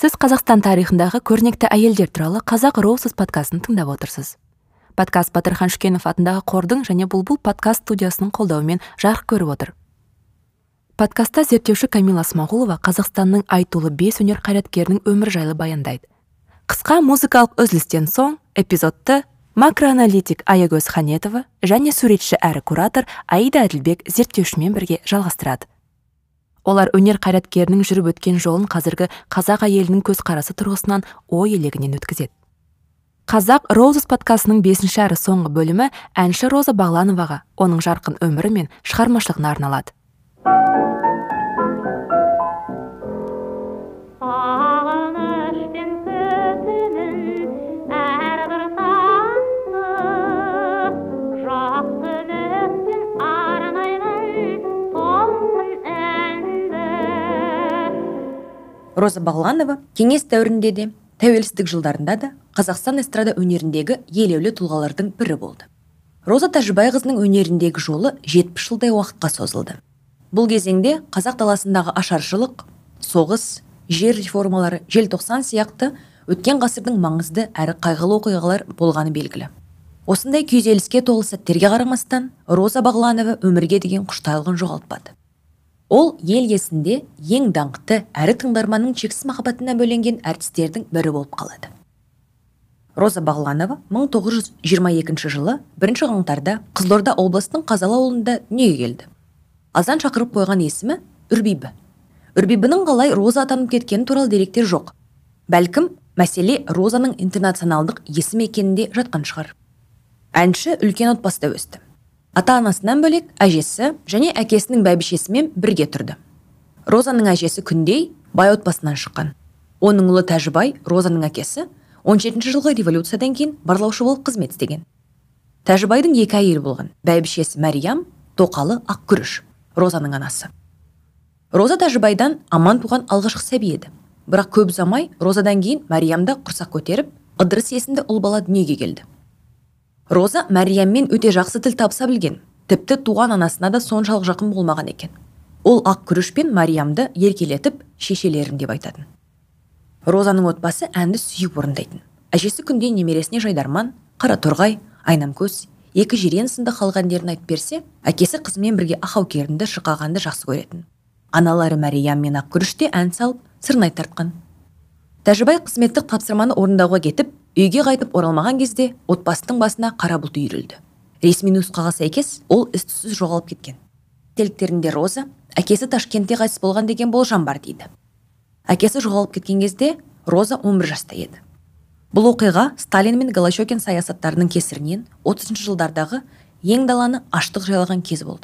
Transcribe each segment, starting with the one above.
Сіз Қазақстан тарихындағы көрнекті әйелдер туралы Қазақ Роусыз подкастын тыңдап отырсыз. Подкаст Батырхан Шүкенов атындағы қордың және Бұлбұл подкаст студиясының қолдауымен жарық көріп отыр. Подкастта зерттеуші Камила Смағұлова Қазақстанның айтулы 5 өнер қайраткерінің өмір жайлы баяндайды. Қысқа музыкалық үзілістен соң эпизодты макроаналитик Аягөз Ханетова және суретші әрі куратор Аида Әділбек зерттеушімен бірге жалғастырады. Олар өнер қайраткерінің жүріп өткен жолын қазіргі қазақ әйелінің көзқарасы тұрғысынан ой елегінен өткізеді. Қазақ Роусыз подкастының 5-ші әрі соңғы бөлімі әнші Роза Бағлановаға, оның жарқын өмірі мен шығармашылығына арналады. Роза Бағланова кеңес дәуірінде де, тәуелсіздік жылдарында да Қазақстан эстрада өнеріндегі елеулі тұлғалардың бірі болды. Роза Тәжібайқызының өнеріндегі жолы 70 жылдай уақытқа созылды. Бұл кезеңде қазақ даласындағы ашаршылық, соғыс, жер реформалары, желтоқсан сияқты өткен ғасырдың маңызды әрі қайғылы оқиғалар болғаны белгілі. Осындай күйзеліске толы сәттерге қарамастан, Роза Бағланова өмірге деген құштарлығын жоғалтпады. Ол ел есінде ең даңқты әрі тыңдарманның шексіз махаббатына бөленген әртістердің бірі болып қалады. Роза Бағланова 1922 жылы 1 қаңтарда Қызылорда облысының Қазалы ауылында дүниеге келді. Азан шақырып қойған есімі Үрбибі. Үрбибінің қалай Роза атанып кеткені туралы деректер жоқ. Бәлкім, мәселе Розаның интернационалдық есім екенінде жатқан шығар. Әнші үлкен отбасыда өсті. Ата-анасынан бөлек әжесі және әкесінің бәйбішесімен бірге тұрды. Розаның әжесі Күндей бай отбасынан шыққан. Оның ұлы Тәжібай, Розаның әкесі, 17 жылғы революциядан кейін барлаушы болып қызмет істеген. Тәжібайдың 2 әйелі болған. Бәйбішесі Мәриям, тоқалы Ақкүріш, Розаның анасы. Роза Тәжібайдан аман туған алғашқы сәби еді. Бірақ көп ұзамай Розадан кейін Мәриямда құрсақ көтеріп, Ыдырыс есімді ұл бала дүниеге келді. Роза Мәрияммен өте жақсы тіл табыса білген, тіпті туған анасына да соншалық жақын болмаған екен. Ол Ақкүріш пен Мәриямды еркелетіп, шешелерім деп айтатын. Розаның отбасы әнді сүйіп орындайтын. Әжесі Күндей немересіне Жайдарман, Қараторғай, Айнамкөз, Екі жирен сынды халық әндерін айтып берсе, әкесі қызымен бірге Ақаукерінді, Шықағанды жақсы көретін. Аналары Мәриям мен Ақкүріш те ән салып, сырнай тартқан. Тәжібай қызметтік тапсырманы орындауға кетіп, үйге қайтып оралмаған кезде отбасының басына қара бұлт үйірілді. Ресми нұсқаға сәйкес ол із-түзсіз жоғалып кеткен. Теліктерінде Роза әкесі Ташкентте қайтыс болған деген болжам бар дейді. Әкесі жоғалып кеткен кезде Роза 11 жаста еді. Бұл оқиға Сталин мен Голощекин саясаттарының кесірінен 30 жылдардағы ең даланы аштық жайлаған кез болды.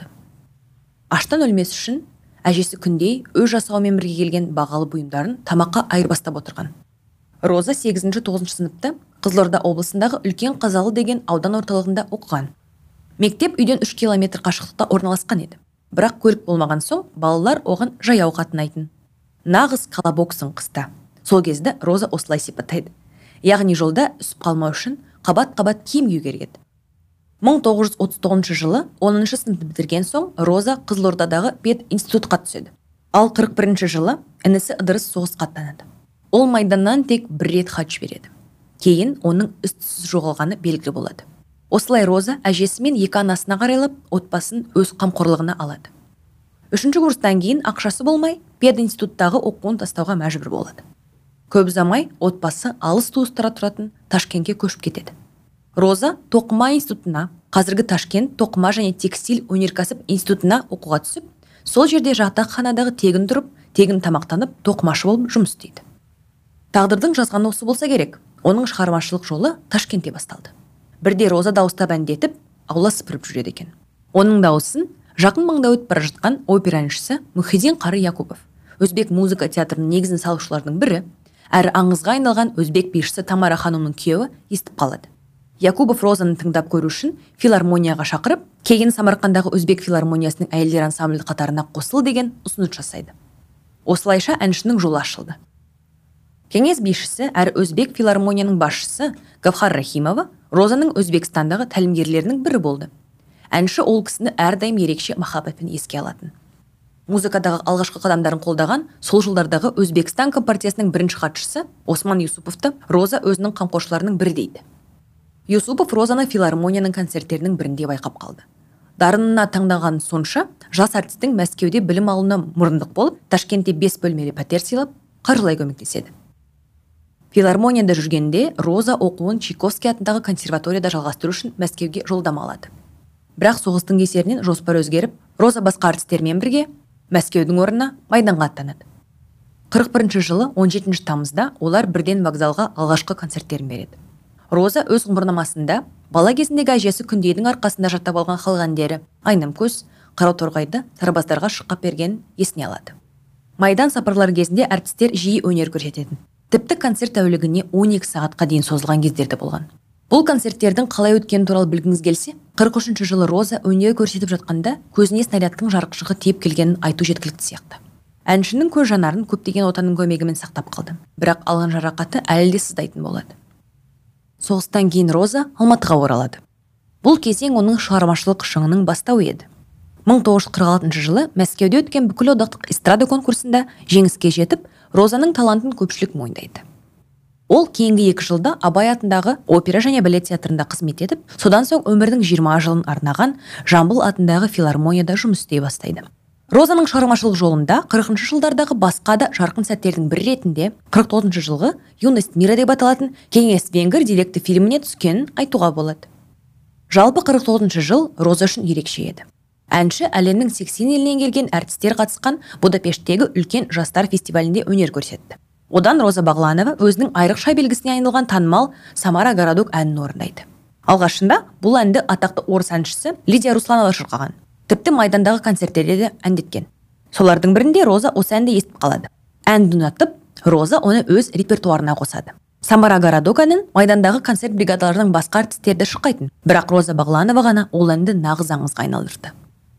Аштан өлмес үшін әжесі Күндей өз жасауымен бірге келген бағалы бұйымдарын тамаққа айырбастап отырған. Роза 8-9 сыныпта Қызылорда облысындағы үлкен Қазалы деген аудан орталығында оқыған. Мектеп үйден 3 километр қашықтықта орналасқан еді. Бірақ көлік болмаған соң балалар оған жаяу қатынайтын. Нағыз колобоксың қыста. Сол кезде Роза осылай сипаттайды. Яғни жолда үсіп қалмау үшін қабат-қабат киім кию керек еді. 1939 жылы 10 сыныпты бітірген соң Роза Қызылордадағы пединститутқа түседі. Ал 41 жылы інісі Ыдырыс соғысқа аттанады. Ол майданнан тек 1 рет хат жібереді. Кейін оның із-түзсіз жоғалғаны белгілі болады. Осылай Роза әжесі мен 2 анасына қарайлап, отбасын өз қамқорлығына алады. 3-ші курстан кейін ақшасы болмай, пединституттағы оқуын тастауға мәжбүр болады. Көп ұзамай отбасы алыс туыстары тұратын Ташкентке көшіп кетеді. Роза Тоқыма институтына, қазіргі Ташкент тоқыма және текстиль өнеркәсіп институтына оқуға түсіп, сол жерде жатақханадағы тегін тұрып, тегін тамақтанып, тоқымашы болып жұмыс істейді. Тағдырдың жазғаны осы болса керек, оның шығармашылық жолы Ташкентте басталды. Бірде Роза дауыстап әндетіп, аула сыпырып жүреді екен. Оның дауысын жақын маңда өтіп бара жатқан опера әншісі Мұхиддин Қары Якупов, өзбек музыка театрының негізін салушылардың бірі, әрі аңызға айналған өзбек бишісі Тамара ханымның күйеуі естіп қалады. Якубов Розаны тыңдап көру үшін филармонияға шақырып, кейін Самарқандағы өзбек филармониясының әйелдер ансамблі қатарына қосыл деген ұсыныс жасайды. Осылайша әншінің жолы ашылды. Кеңес бишісі әрі өзбек филармонияның басшысы Гавхар Рахимова Розаның Өзбекстандағы тәлімгерлерінің бірі болды. Әнші ол кісіні әрдайым ерекше махаббатпен еске алатын. музыкадағы алғашқы қадамдарын қолдаған сол жылдардағы Өзбекстан компартиясының бірінші хатшысы Осман Юсуповты Роза өзінің қамқоршыларының бірі дейді. Юсупов Розаны филармонияның концерттерінің бірінде байқап қалды. Дарынына таңдаған сонша, жас артистің Мәскеуде білім алуына мұрындық болып, Ташкентте 5 бөлмелі пәтер сыйлап, қаржылай көмектеседі. Филармонияда жүргенде Роза оқуын Чайковский атындағы консерваторияда жалғастыру үшін Мәскеуге жолдама алады. Бірақ соғыстың кесірінен жоспар өзгеріп, Роза басқа артистермен бірге Мәскеудің орнына Майданға аттанады. 41 жылы 17 тамызда олар бірден вокзалға алғашқы концерттерін береді. Роза өз ғұмырнамасында бала кезіндегі әжесі Күндейдің арқасында жаттап алған халық әндері Айнам көз, Қарауторғайды сарбаздарға шырқап бергенін есіне алады. Майдан сапарлары кезінде артистер жиі өнер көрсететін. Тіпті концерт тәулігіне 12 сағатқа дейін созылған кездерді болған. Бұл концерттердің қалай өткені туралы білгіңіз келсе, 43 жылы Роза өнер көрсетіп жатқанда көзіне снарядтың жарықшығы тиіп келгенін айту жеткілікті сияқты. Әншінің көз жанарын көптеген отаның көмегімен сақтап қалды, бірақ алған жарақаты әлі де сыздайтын болады. Соғыстан кейін Роза Алматыға оралады. Бұл кезең оның шығармашылық шыңының бастауы еді. 1946 жылы Мәскеуде өткен бүкіл одақтық эстрада конкурсында жеңіске жетіп, Розаның талантын көпшілік мойындайды. Ол кейінгі 2 жылда Абай атындағы опера және балет театрында қызмет етіп, содан соң өмірдің 20 жылын арнаған Жамбыл атындағы филармонияда жұмыс істей бастайды. Розаның шығармашылық жолында 40 жылдардағы басқа да жарқын сәттердің бірі ретінде 49 жылғы Юность мира деп аталатын кеңес венгр деректі фильміне түскенін айтуға болады. Жалпы 49 жыл Роза үшін ерекше еді. Әнші әлемнің 80 елінен келген әртістер қатысқан Будапешттегі үлкен жастар фестивалінде өнер көрсетті. Одан Роза Бағланова өзінің айрықша белгісіне айналған танымал Самара Городок әнін орындайды. Алғашында бұл әнді атақты орыс әншісі Лидия Русланова шырқаған. Тіпті Майдандағы концерттерде де әндеткен. Солардың бірінде Роза осы әнді естіп қалады. Әнді ұнатып, Роза оны өз репертуарына қосады. Самара Городок әнін Майдандағы концерт бригадаларының басқа артистерді шырқайтын, бірақ Роза Бағланова ғана ол әнді нағыз аңызға айналдырды.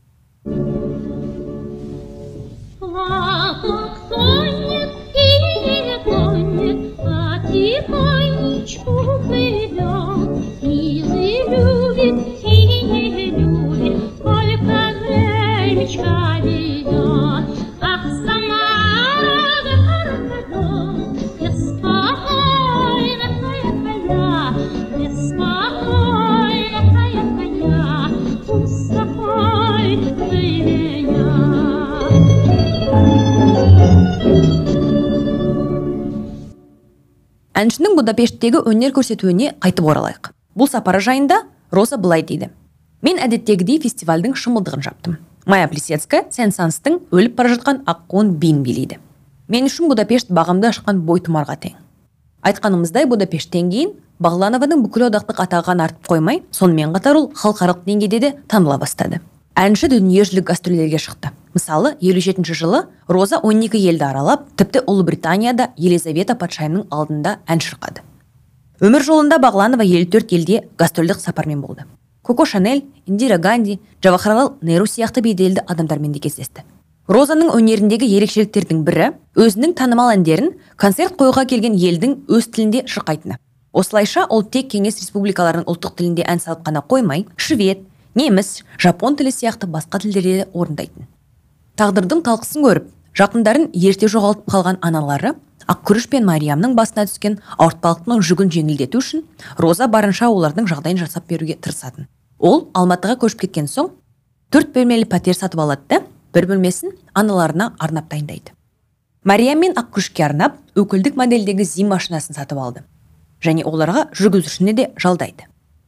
Әншінің Будапешттегі өнер көрсетуіне қайтып оралайық. Бұл сапары жайында Роза былай дейді. Мен әдеттегідей фестивальдің шымылдығын жаптым. Майя Плисецкая Сен-Санстың өліп бара жатқан аққуын биін билейді. Мен үшін Будапешт бағымды ашқан бойтұмарға тең. Айтқанымыздай Будапешттен кейін Бағланованың бүкіл одақтық атағын артып қоймай, сонымен қатар ол халықаралық деңгейде де таныла бастады. Әнші дүниежүзілік гастрольдерге шықты. Мысалы, 57 жылы Роза 12 елді аралап, тіпті Ұлыбританияда Елизавета патшайымның алдында ән шырқады. Өмір жолында Бағланова 54 елде гастрольдік сапармен болды. Коко Шанель, Индира Ганди, Джавахарлал Неру сияқты беделді адамдармен де кездесті. Розаның өнеріндегі ерекшеліктердің бірі өзінің танымал әндерін концерт қоюға келген елдің өз тілінде шырқайтыны. Осылайша ол тек кеңес республикаларының ұлттық тілінде ән салып қана қоймай, швед, неміс, жапон тілі сияқты басқа тілдерде орындайтын. Тағдырдың талқысын көріп, жақындарын ерте жоғалтып қалған аналары Ақкүріш пен Мариямның басына түскен ауыртпалықтың жүгін жеңілдету үшін Роза барынша олардың жағдайын жасап беруге тырысатын. Ол Алматыға көшіп кеткен соң 4 бөлмелі пәтер сатып алады да, бір бөлмесін аналарына арнап дайындайды. Мариям мен Ақкүрішке арнап өкілдік модельдегі ЗИМ машинасын сатып алды. Және оларға жүргізушіні де жалдайды.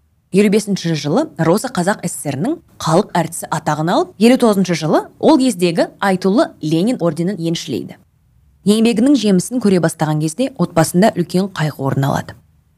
55 жылы Роза Қазақ СССР-ның халық әртісі атағын алып, 59 жылы ол кездегі айтулы Ленин орденін еншілейді. Еңбегінің жемісін көре бастаған кезде отбасында үлкен қайғы орын алады.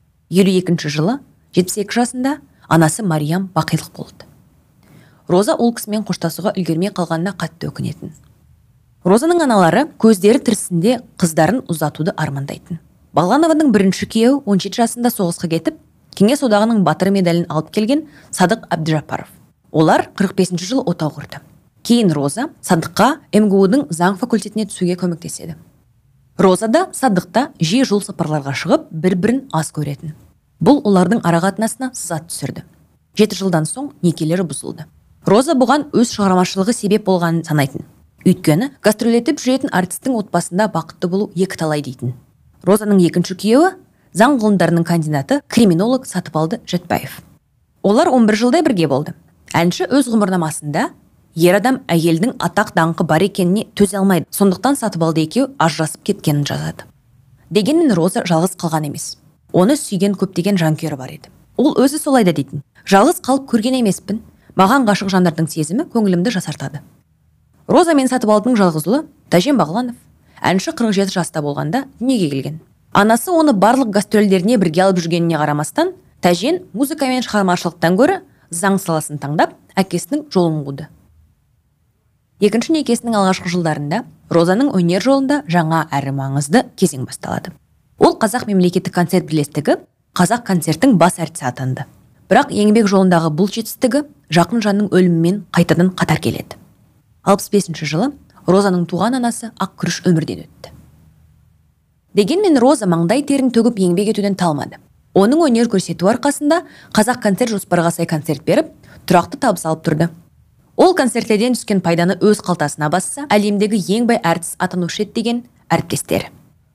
52 жылы 72 жасында анасы Мариям бақилық болды. Роза ол кісімен қоштасуға үлгермей қалғанына қатты өкінетін. Розаның аналары көздері тірісінде қыздарын ұзатуды армандайтын. Бағланованың бірінші күйеуі 17 жасында соғысқа кетіп, Кеңес одағының батыры медалін алып келген Садық Әбдіжаппаров. Олар 45 жылы отау құрды. Кейін Роза Садыққа МГУ-дің заң факультетіне түсуге көмектеседі. Роза да Садықта жиі жол сапарларға шығып, бір-бірін аз көретін. Бұл олардың арақатынасына сызат түсірді. 7 жылдан соң некелері бұзылды. Роза бұған өз шығармашылығы себеп болғанын санайтын. Өйткені гастролетіп жүретін артистің отбасында бақытты болу екі талай дейтін. Розаның екінші күйеуі заң ғылымдарының кандидаты криминолог Сатыбалды Жатбаев. Олар 11 жылдай бірге болды. Әнші өз ғұмырнамасында ер адам әйелдің атақ даңқы бар екеніне төзе алмайды, сондықтан Сатыбалды екеуі ажырасып кеткенін жазады. Дегенмен Роза жалғыз қалған емес. Оны сүйген көптеген жанкүйері бар еді. Ол өзі солай да дейтін. Жалғыз қалып көрген емеспін. Маған ғашық жандардың сезімі көңілімді жасартады. Роза мен Сатыбалдың жалғыз ұлы Тәжен Бағланов. Әнші 47 жаста болғанда дүниеге келген. Анасы оны барлық гастрольдеріне бірге алып жүргеніне қарамастан, Тәжен музыка мен шығармашылықтан гөрі заң саласын таңдап, әкесінің жолын қуды. Екінші некесінің алғашқы жылдарында Розаның өнер жолында жаңа әрі маңызды кезең басталады. Ол Қазақ мемлекеттік концерт бірлестігі Қазақ концерттің бас әртісі атанды. Бірақ еңбек жолындағы бұл жетістігі жақын жанның өлімімен қайтадан қатар келеді. 65 жылы Розаның туған анасы Ақкүріш өмірден өтті. Дегенмен Роза маңдай терін төгіп еңбек етуден талмады. Оның өнер көрсету арқасында Қазақ концерт жоспарға сай концерт беріп, тұрақты табыс алып тұрды. Ол концерттерден түскен пайданы өз қалтасына басса, әлемдегі ең бай әртіс атанушы еді деген әріптестері.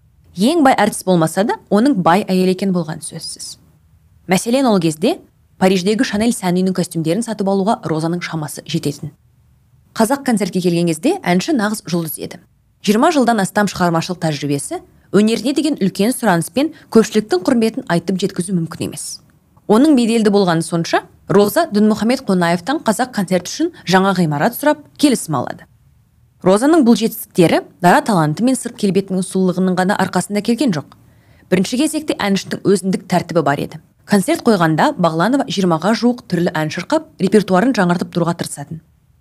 Ең бай әртіс болмаса да, оның бай әйел екен болған сөзсіз. Мәселен, ол кезде Париждегі Шанель сән үйінің костюмдерін сатып алуға Розаның шамасы жететін. Қазақ концертке келген кезде әнші нағыз жұлдыз еді. 20 жылдан астам шығармашылық тәжірибесі, өнеріне деген үлкен сұраныспен көпшіліктің құрметін айтып жеткізу мүмкін емес. Оның беделді болғаны сонша, Роза Дінмұхамед Қонаевтан Қазақ концерт үшін жаңа ғимарат сұрап келісім алады. Розаның бұл жетістіктері дара таланты мен сырт келбетінің сұлулығының ғана арқасында келген жоқ. Бірінші кезекте әншінің өзіндік тәртібі бар еді. Концерт қойғанда Бағланова 20-ға жуық түрлі ән шырқап, репертуарын жаңартып тұруға тырысатын.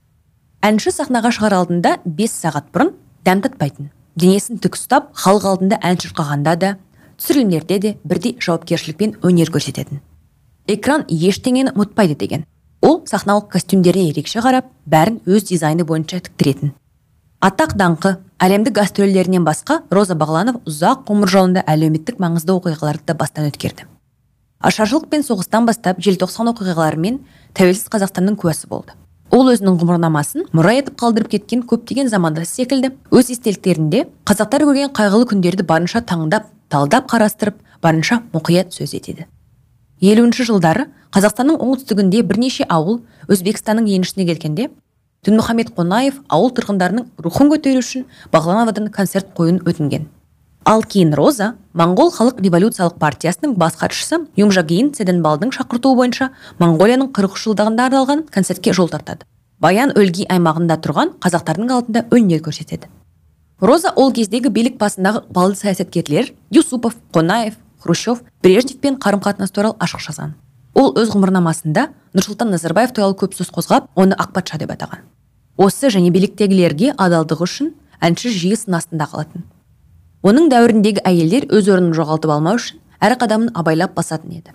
Әнші сахнаға шығар алдында 5 сағат бұрын дәм татпайтын. Денесін тік ұстап, халық алдында ән шырқағанда да, түсірілімдерде де бірдей жауапкершілікпен өнер көрсететін. Экран ештеңені ұмытпайды деген. Ол сахналық костюмдеріне ерекше қарап, бәрін өз дизайны бойынша тіктіретін. Атақ даңқы, әлемдік гастрольдерінен басқа Роза Бағланов ұзақ ғұмыр жолында әлеуметтік маңызды оқиғаларды да бастан өткерді. Ашаршылық пен соғыстан бастап желтоқсан оқиғаларымен тәуелсіз Қазақстанның куәсі болды. Ол өзінің ғұмырнамасын мұра етіп қалдырып кеткен көптеген замандасы секілді, өз естеліктерінде қазақтар көрген қайғылы күндерді барынша таңдап, талдап қарастырып, барынша мұқият сөз етеді. 50-ші жылдары Қазақстанның оңтүстігінде бірнеше ауыл Өзбекстанның енішіне келгенде, Дінмұхамед Қонаев ауыл тұрғындарының рухын көтеру үшін Бағлановадан концерт қойын өтінген. Ал кейін Роза Моңғол халық революциялық партиясының бас хатшысы Юмжагин Цеденбалдың шақыртуы бойынша Моңғолияның 40 жылдығында арналған концертке жол тартады. Баян өлгей аймағында тұрған қазақтардың алдында өнер көрсетеді. Роза ол кездегі билік басындағы ықпалды саясаткерлер Юсупов, Қонаев, Хрущев, Брежневпен қарым-қатынас туралы ашық жазған. Ол өз ғұмырнамасында Нұрсұлтан Назарбаев туралы көп сөз қозғап, оны ақпатша деп атаған. Осы және биліктегілерге адалдығы үшін әнші жиі сын астында қалатын. Оның дәуіріндегі әйелдер өз орнын жоғалтып алмау үшін әр қадамын абайлап басатын еді.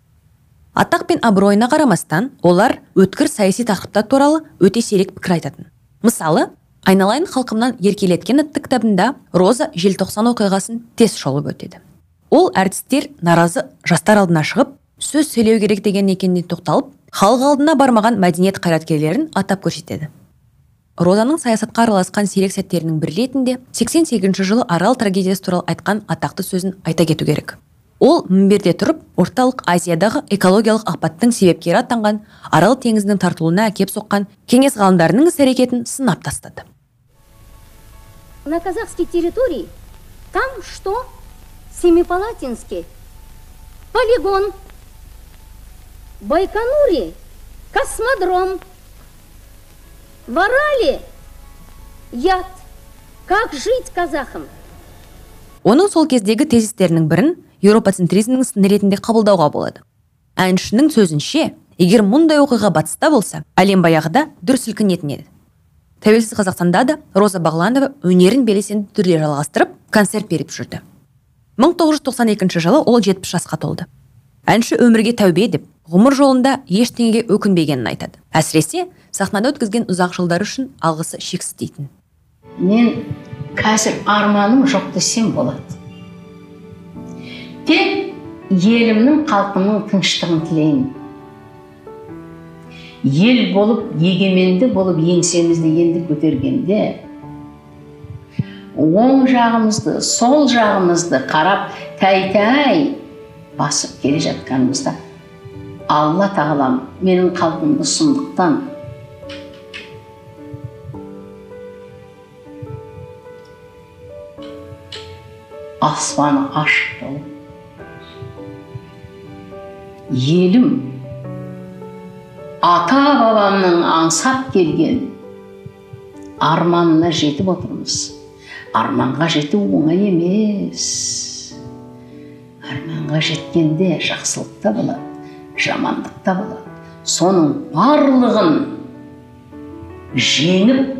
Атақ пен абыройына қарамастан, олар өткір саяси тақырыптар туралы өте сирек пікір айтатын. Мысалы, Айналайын халқымнан еркелеткен атты кітабында Роза желтоқсан оқиғасын тез шолып өтеді. Ол әртістер наразы жастар алдына шығып, сөз сөйлеу керек деген екеніне тоқталып, халық алдына бармаған мәдениет қайраткерлерін атап көрсетеді. Розаның саясатқа араласқан сирек сәттерінің бір ретінде 88 жылы Арал трагедиясы туралы айтқан атақты сөзін айта кету керек. Ол мінберде тұрып, орталық Азиядағы экологиялық апаттың себепкері атанған Арал теңізінің тартылуына әкеп соққан кеңес ғалымдарының іс-әрекетін сынап тастады. На казахской территории там что? Семипалатинске полигон, Байконуре космодром, в Арале яд. Как жить казахам? Оның сол кездегі тезистерінің бірін еуропоцентризмнің сыны ретінде қабылдауға болады. Әншінің сөзінше, егер мұндай оқиға батыста болса, әлем баяғыда дүр сілкінетін еді. Тәуелсіз Қазақстанда да Роза Бағланова өнерін белсенді түрде жалғастырып, концерт беріп жүрді. 1992 жылы ол 70 жасқа толды. Әнші өмірге тәубе деп, ғұмыр жолында ештеңеге өкінбегенін айтады. Әсіресе сахнада өткізген ұзақ жылдар үшін алғысы шексіз дейтін. Мен қазір арманым жоқ десем болады. Тек елімнің халқының тыныштығын тілеймін. Ел болып, егеменді болып еңсемізді енді көтергенде, оң жағымызды, сол жағымызды қарап тәй басып келе жатқанымызда Алла тағалам менің қалпымды сұмдықтан аспаны ашық болып елім ата бабамның аңсап келген арманына жетіп отырмыз. Арманға жету оңай емес. Арманға жеткенде жақсылық та болады, жамандық та болады. Соның барлығын жеңіп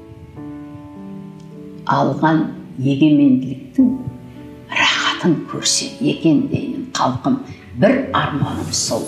алған егеменділіктің рахатын көрсе екен деймін халқым. Бір арманым сол.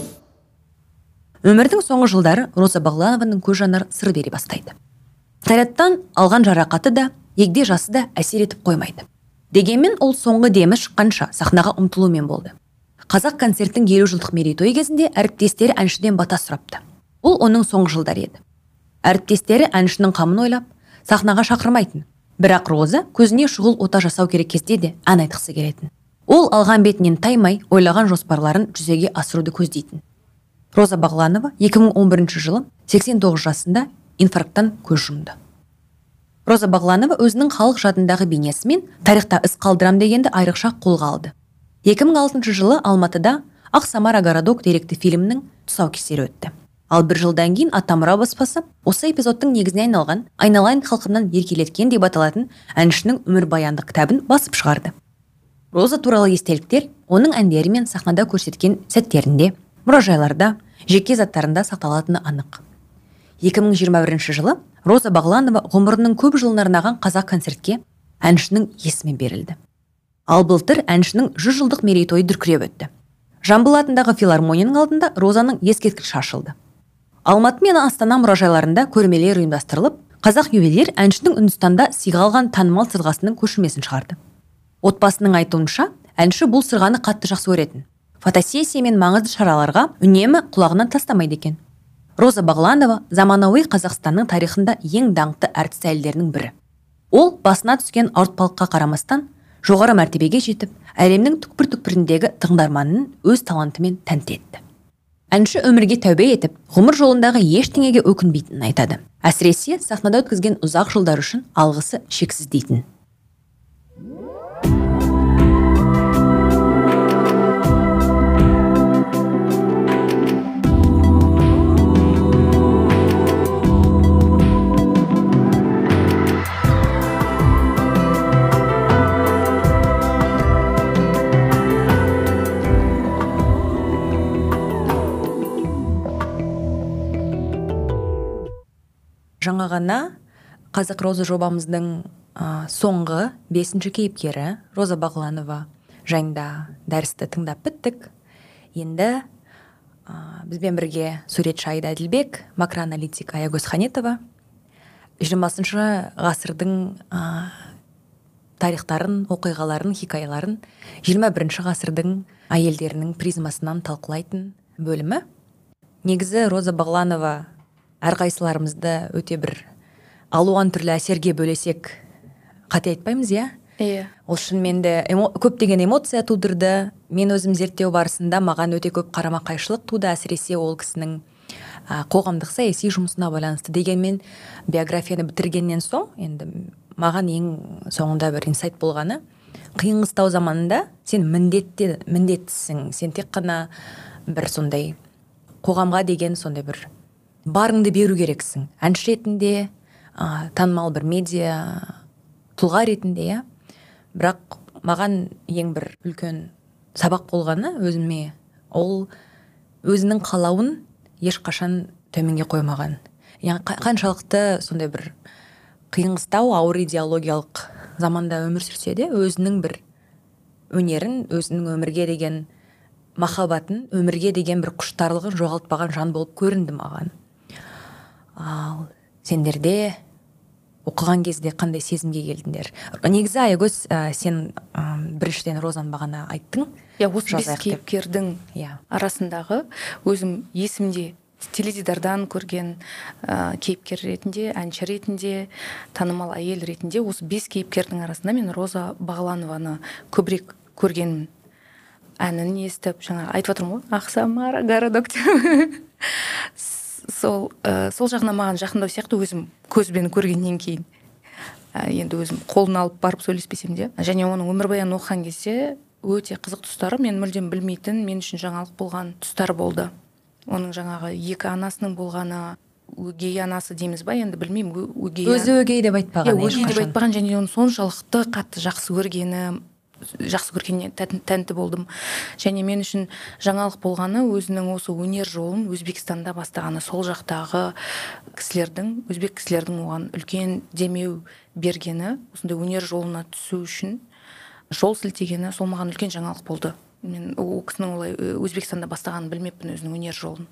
Өмірдің соңғы жылдары Роза Бағланованың көз жанары сыр бере бастайды. Снарядтан алған жарақаты да, егде жасы да әсер етіп қоймайды. Дегенмен ол соңғы демі шыққанша сахнаға ұмтылумен болды. Қазақ концерттің 50 жылдық мерейтойы кезінде әріптестері әншіден бата сұрапты. Бұл оның соңғы жылдары еді. Әріптестері әншінің қамын ойлап, сахнаға шақырмайтын. Бірақ Роза көзіне шұғыл ота жасау керек кезде де ән айтқысы келетін. Ол алған бетінен таймай, ойлаған жоспарларын жүзеге асыруды көздейтін. Роза Бағланова 2011 жылы 89 жасында инфаркттан көз жұмды. Роза Бағланова өзінің халық жадындағы бейнесімен тарихта із қалдырам дегенді айрықша қолға алды. 2006 жылы Алматыда Ақ Самара городок деректі фильмнің тұсаукесері өтті. Ал бір жылдан кейін Атамұра баспасы осы эпизодтың негізіне айналған «Айналайын халқымнан еркелеткен» деп аталатын әншінің өмірбаяндық кітабын басып шығарды. Роза туралы естеліктер оның әндері мен сахнада көрсеткен сәттерінде, мұражайларда, жеке заттарында сақталатыны анық. 2021 жылы Роза Бағланова ғұмырының көп жылын арнаған қазақ концертке әншінің есімі берілді. Ал былтыр әншінің 100 жылдық мерейтойы дүркіреп өтті. Жамбыл атындағы филармонияның алдында Розаның ескерткіші ашылды. Алматы мен Астана мұражайларында көрмелер ұйымдастырылып, қазақ ювелир әншінің Үндістанда сыйға алған танымал сырғасының көшірмесін шығарды. Отбасының айтуынша, әнші бұл сырғаны қатты жақсы көретін. Фотосессия мен маңызды шараларға үнемі құлағынан тастамайды екен. Роза Бағланова заманауи Қазақстанның тарихында ең даңқты әртіс әйелдерінің бірі. Ол басына түскен ауыртпалыққа қарамастан жоғары мәртебеге жетіп, әлемнің түкпір-түкпіріндегі тыңдарманын өз талантымен тәнті етті. Әнші өмірге тәубе етіп, ғұмыр жолындағы ештеңеге өкінбейтінін айтады. Әсіресе сахнада өткізген ұзақ жылдар үшін алғысы шексіз дейтін. Жаңа ғана Қазақ Роза жобамыздың соңғы 5-ші кейіпкері Роза Бағланова жайында дәрісті тыңдап біттік. Енді бізбен бірге суретші Айда Әділбек, макроаналитик Аягөз Ханетова 20-шы ғасырдың тарихтарын, оқиғаларын, хикаяларын 21-ші ғасырдың әйелдерінің призмасынан талқылайтын бөлімі. Негізі Роза Бағланова әрқайсыларымызды өте бір алуан түрлі әсерге бөлесек қате айтпаймыз, иә? Ол шынымен де көптеген эмоция тудырды. Мен өзім зерттеу барысында маған өте көп қарама-қайшылық туды, әсіресе ол кісінің қоғамдық саяси жұмысына байланысты. Дегенмен биографияны бітіргеннен соң, енді маған ең соңында бір инсайт болғаны, қиын-қыстау заманында сен міндеттісің, сен тек қана бір сондай қоғамға деген сондай бір барыңды беру керексің. Әнші ретінде, танымал бір медиа тұлға ретінде, бірақ маған ең бір үлкен сабақ болғаны өзіме, ол өзінің қалауын ешқашан төменге қоймаған. Қаншалықты сондай бір қиын-қыстау, ауыр идеологиялық заманда өмір сүрсе де, өзінің бір өнерін, өзінің өмірге деген махаббатын, өмірге деген бір құштарлығын жоғалтпаған жан болып көрінді маған. Ал сендерде оқыған кезде қандай сезімге келдіңдер? Негізі Аягөз, сен біріншіден Розаны бағана айттың. Осы 5 кейіпкердің арасындағы өзім есімде теледидардан көрген кейіпкер ретінде, әнші ретінде, танымал әйел ретінде осы 5 кейіпкердің арасында мен Роза Бағланованы көбірек көргенмін. Әнін естіп, жаңа айтып отырмын ғой, Ақсамара городок. Сол жағына маған жақындау сияқты өзім көзбен көргеннен кейін. Енді өзім қолын алып барып сөйлеспесем де. Және оның өмірбаянын оқыған кезде өте қызық тұстары, мен мүлдем білмейтін, мен үшін жаңалық болған тұстар болды. Оның жаңағы 2 анасының болғаны, өгей анасы дейміз ба, енді білмеймін, өзі өгей деп айтпаған. Өгей деп айтпаған, және оны соншалықты қатты жақсы көргеніне тәнті болдым. Және мен үшін жаңалық болғаны өзінің осы өнер жолын Өзбекстанда бастағаны, сол жақтағы өзбек кісілердің оған үлкен демеу бергені, осындай өнер жолына түсу үшін жол сілтегені, сол маған үлкен жаңалық болды. Мен ол кісінің олай Өзбекстанда бастағанын білмеппін, өзінің өнер жолын.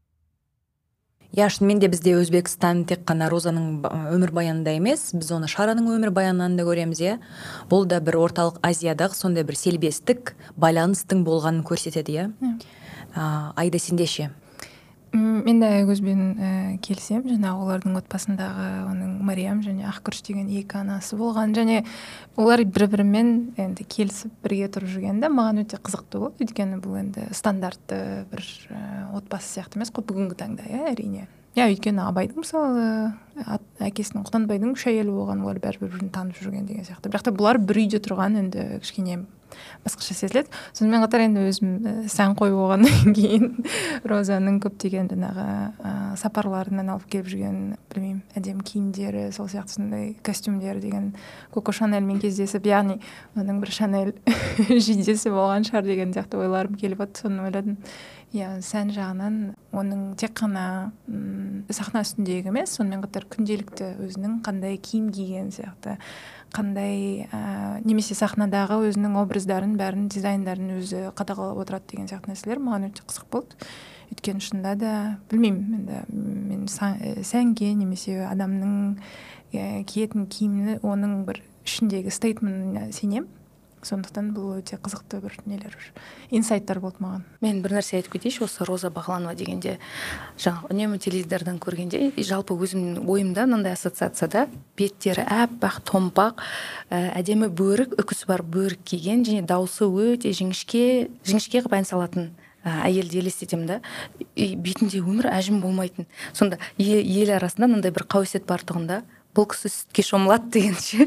Шынымен де бізде Өзбекстан тек қана Розаның өмірбаянында емес, біз оны Шараның өмірбаянынан да көреміз. Бұл да бір орталық Азиядағы сондай бір селбестік байланыстың болғанын көрсетеді. Айда, сенде ше? Мен де көзбен келсем, жаңағы олардың отбасындағы оның Мариям және Ақкүріш деген 2 анасы болған, және олар бір-бірімен енді келісіп бірге тұрып жүргенде маған өте қызықты болды. Өйткені бұл енді стандартты бір отбасы сияқты емес қой бүгінгі таңда, әрине. Өйткені Абайдың мысалы әкесінің Құнанбайдың 3 әйелі болған, олар бір-бірін танып жүрген деген сияқты. Бірақ та бұлар бір үйде тұрған енді кішкене басқаша сезіледі. Сонымен қатар енді өзім сән қойып болғаннан кейін Розаның көптеген сапарларынан алып келіп жүрген, білмеймін, әдемі киімдері, сол сияқты сондай костюмдері деген Коко Шанельмен кездесіп, яғни оның бір Шанель жидесі болған шығар деген сияқты ойларым келіп отыр. Соны ойладым. Сән жағынан оның тек қана сахна үстіндегі емес, сонымен қатар күнделікті өзінің қандай киім киген сияқты, қандай немесе сахнадағы өзінің образдарын, бәрін, дизайндарын өзі қадағалап отырады деген сияқты нәрселер маған өте қызық болды. Өйткені шынында да, білмеймін, мен сәнге немесе адамның киетін киімі оның бір ішіндегі стейтментіне сенем. Сондықтан бұл өте қызықты бір нелер, инсайттар болды маған. Мен бір нәрсе айтып кетейінші, осы Роза Бағланова дегенде, жаңағы үнемі теледидардан көргенде, жалпы өзімнің ойымда мынандай ассоциацияда беттері әппақ, томпақ, әдемі бөрік, үкісі бар бөрік киген, және дауысы өте жіңішке қылып ән салатын әйелді елестетемін да. Бетінде өмір әжім болмайтын. Сонда ел арасында мынандай бір қауесет бар тұғында, бұл кісі сүтке шомылады дегенше.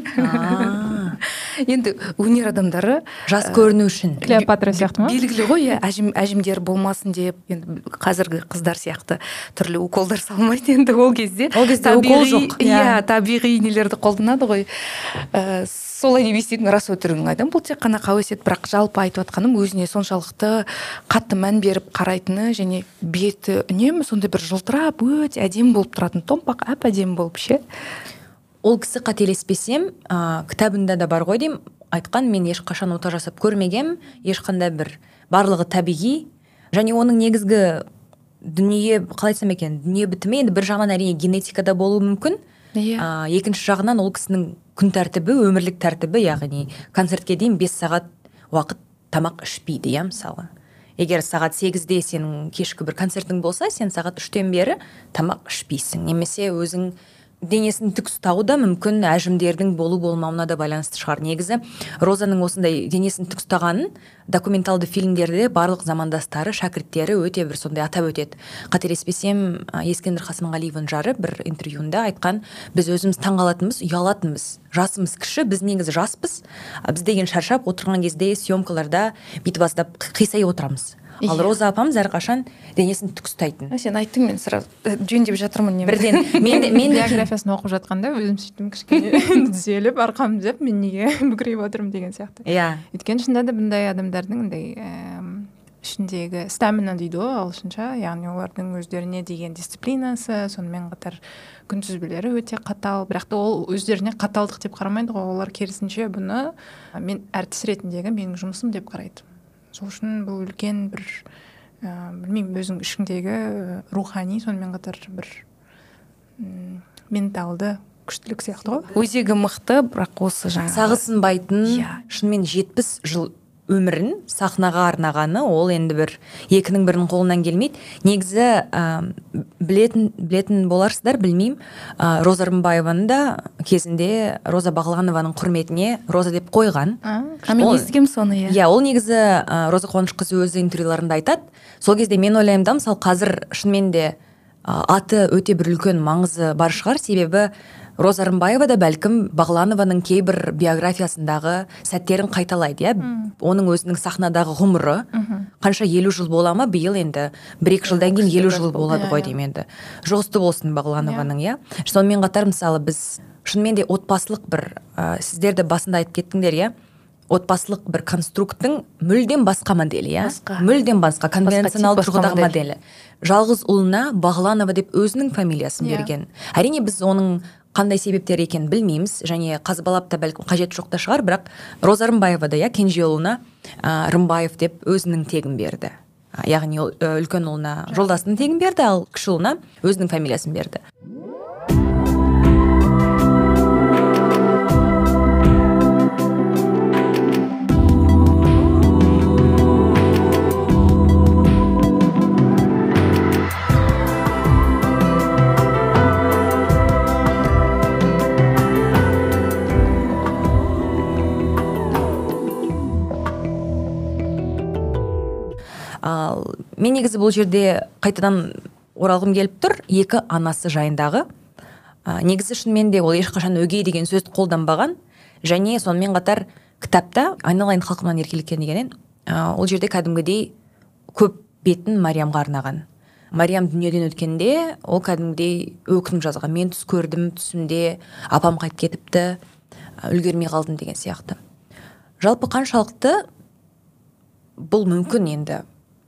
Енді өнер адамдары жас көріну үшін Клеопатра сияқты ма? Белгілі ғой, әжімдер болмасын деп, енді қазіргі қыздар сияқты түрлі уколдар салмайды енді ол кезде. Укол жоқ. Табиғи нелерді қолданады ғой. Солай деп еститін рас өтірігін айдым. Бұл тек қана қауесет, бірақ жалпы айтып атқаным өзіне соншалықты қатты мән беріп қарайтыны, және беті үнемі сондай бір жылтырап өте әдемі болып тұратын, томпақ әдемі болып ше. Ол кісі қателеспесем, кітабында да бар ғой деймін, айтқан, мен ешқашан ота жасап көрмегем, ешқандай бір барлығы табиғи, және оның негізгі дүние, қалай айтсам екен, дүние бітімі енді бір жағынан әрине генетикада болуы мүмкін. Екінші жағынан ол кісінің күн тәртібі, өмірлік тәртібі, яғни концертке дейін 5 сағат уақыт тамақ ішпейді, мысалы. Егер сағат 8-де сенің кешкі бір концертің болса, сен сағат 3-тен бері тамақ ішпейсің. Немесе өзің денесін тік ұстауы да мүмкін әжімдердің болу-болмауына да байланысты шығар. Негізі Розаның осындай денесін тік ұстағанын документалды фильмдерде барлық замандастары, шәкірттері өте бір сондай атап өтеді. Қателеспесем, Ескендір Қасымғалиевың жары бір интервьюында айтқан, біз өзіміз таңғалатынбыз, ұялатынбыз. Жасымыз кіші, біз негізі жаспыз. Біз деген шаршап отырған кезде съемкаларда бүйтіп аздап қисай отырамыз. Ал Роза апамыз әрқашан денесін тік ұстайтын. Сен айттың, мен сразу жөндеп жатырмын. Бірден мен биографиясын оқып жатқанда өзім сөйтіп кішкене түзеліп, арқамды түзеп, мен неге бүкірейіп отырмын деген сияқты. Өйткені шынында да бұндай адамдардың ішіндегі стамина дейді ғой ағылшынша, яғни олардың өздеріне деген дисциплинасы, сонымен қатар күнтізбелері өте қатал, бірақ та ол өздеріне қаталдық деп қарамайды ғой, олар керісінше бұны мен әртіс ретіндегі менің жұмысым деп қарайды. Сол үшін бұл үлкен бір, білмеймін, өзің ішіңдегі рухани, сонымен қатар бір менталды күштілік сияқты ғой. Өзегі мықты, бірақ осы жаңағы сағысынбайтын, шынымен 70 жыл өмірін сахнаға арнағаны ол енді бір екінің бірінің қолынан келмейді. Негізі білетін боларсыздар, білмеймін, Роза Рымбаеваны да кезінде Роза Бағланованың құрметіне Роза деп қойған. Мен естігем соны. Иә, ол негізі Роза Қуанышқызы өзі интервьюларында айтады. Сол кезде мен ойлаймын да, мысалы қазір шынымен де аты өте бір үлкен маңызы бар шығар, себебі Роза Рымбаева да бәлкім Бағланованың кейбір биографиясындағы сәттерін қайталайды, иә. Оның өзінің сахнадағы ғұмыры қанша 50 жыл бола ма, биыл енді 1-2 жылдан кейін 50 жыл болады ғой деймін енді. Жұғысты болсын Бағланованың, иә. Сонымен қатар мысалы біз шынымен де отбасылық бір сіздер де басында айтып кеттіңдер, иә. Отбасылық бір конструкттың мүлдем басқа моделі, иә. Мүлдем басқа, конвенционалды тұрғыдағы моделі. Жалғыз ұлына Бағланова деп өзінің фамилиясын берген. Әрине біз оның қандай себептер екенін білмейміз, және қазбалап та бәлкім қажет жоқ та шығар, бірақ Роза Рымбаева да, кенже ұлына Рымбаев деп өзінің тегін берді. Яғни үлкен ұлына жолдасының тегін берді, ал кіші ұлына өзінің фамилиясын берді. Мен негізі бұл жерде қайтадан оралғым келіп тұр, екі анасы жайындағы. Негізі шынымен де ол ешқашан өгей деген сөзді қолданбаған, және сонымен қатар кітапта айналайын халқымнан еркеліккен дегеннен ол жерде кәдімгідей көп бетін Мариямға арнаған. Мариям дүниеден өткенде ол кәдімгідей өкініп жазған. Мен түс көрдім, түсімде апам қайтып кетіпті, үлгермей қалдым деген сияқты. Жалпы қаншалықты бұл мүмкін енді?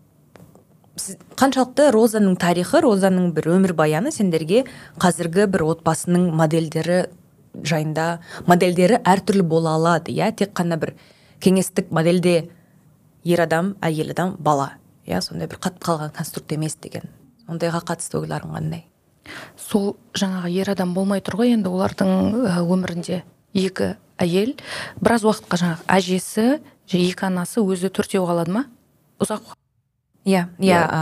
Қаншалықты Розаның тарихы, Розаның бір өмір баяны сендерге қазіргі бір отбасының модельдері жайында, модельдері әртүрлі бола алады, иә, тек қана бір кеңестік модельде ер адам, әйел адам, бала, иә, сондай бір қатып қалған конструкт емес деген. Ондайға қатысты ойларың қандай? Сол жаңағы ер адам болмай тұр ғой, енді олардың өмірінде екі әйел, біраз уақытқа жаңағы әжесі, екі анасы өзі төртеу қалады ма? Ұзақ. Иә,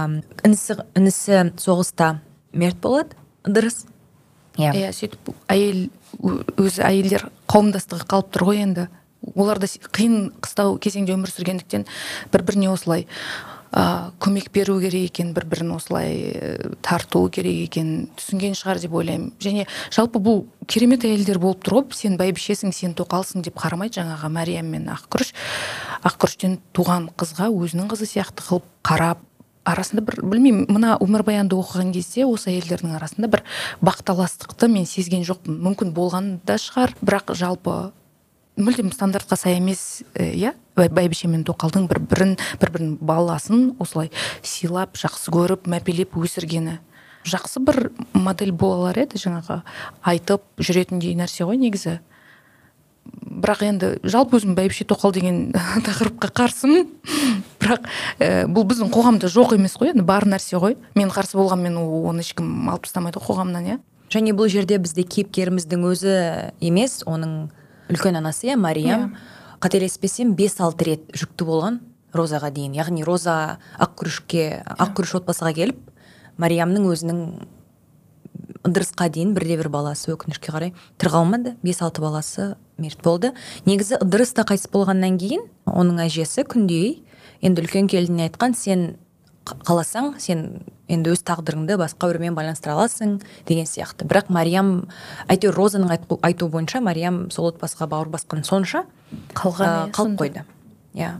інісі соғыста мерт болады, дұрыс. Иә, сөйтіп әйел өзі әйелдер қауымдастығы қалып тұр ғой енді. Олар да қиын қыстау кезеңде өмір сүргендіктен бір-біріне осылай көмек беру керек екен, бір-бірін осылай тарту керек екен, түсінген шығар деп ойлаймын. Және жалпы бұл керемет әйелдер болып тұр ғой, сен бәйбішесің, сен тоқалсың деп қарамайды, жаңағы Мариям мен Ақкүріштен туған қызға өзінің қызы сияқты қылып қарап, арасында бір, білмеймін, мына өмірбаянды оқыған кезде осы әйелдердің арасында бір бақталастықты мен сезген жоқпын. Мүмкін болған да шығар, бірақ жалпы мүлдем стандартқа сай емес, иә, бәйбіше мен тоқалдың бір-бірін баласын осылай сыйлап, жақсы көріп, мәпелеп өсіргені. Жақсы бір модель болалар еді, жаңағы айтып жүретіндей нәрсе ғой негізі. Бірақ енді жалпы өзім бәйбіше тоқал деген тақырыпқа қарсымын. Бірақ бұл біздің қоғамда жоқ емес қой, енді бар нәрсе ғой. Мен қарсы болғанмен оны ешкім алып тастамайды қоғамнан, иә. Және бұл жерде бізде кейіпкеріміздің өзі емес, оның үлкен анасы, Мариям, қателеспесем 5-6 рет жүкті болған Розаға дейін. Яғни Роза Ақкүріш отбасыға келіп, Мариямның өзінің Ыдырысқа дейін бірде-бір баласы өкінішке қарай тірі қалмады, 5-6 баласы мерт болды. Негізі Ыдырыс та қайтыс болғаннан кейін оның әжесі күндей енді үлкен келініне айтқан, сен қаласаң, сен енді өз тағдырыңды басқа біреумен байланыстыра аласың деген сияқты. Бірақ Мариям, әйтеуір Розаның айтуы бойынша, Мариям сол отбасыға бауыр басқан сонша қалып қойды. Иә.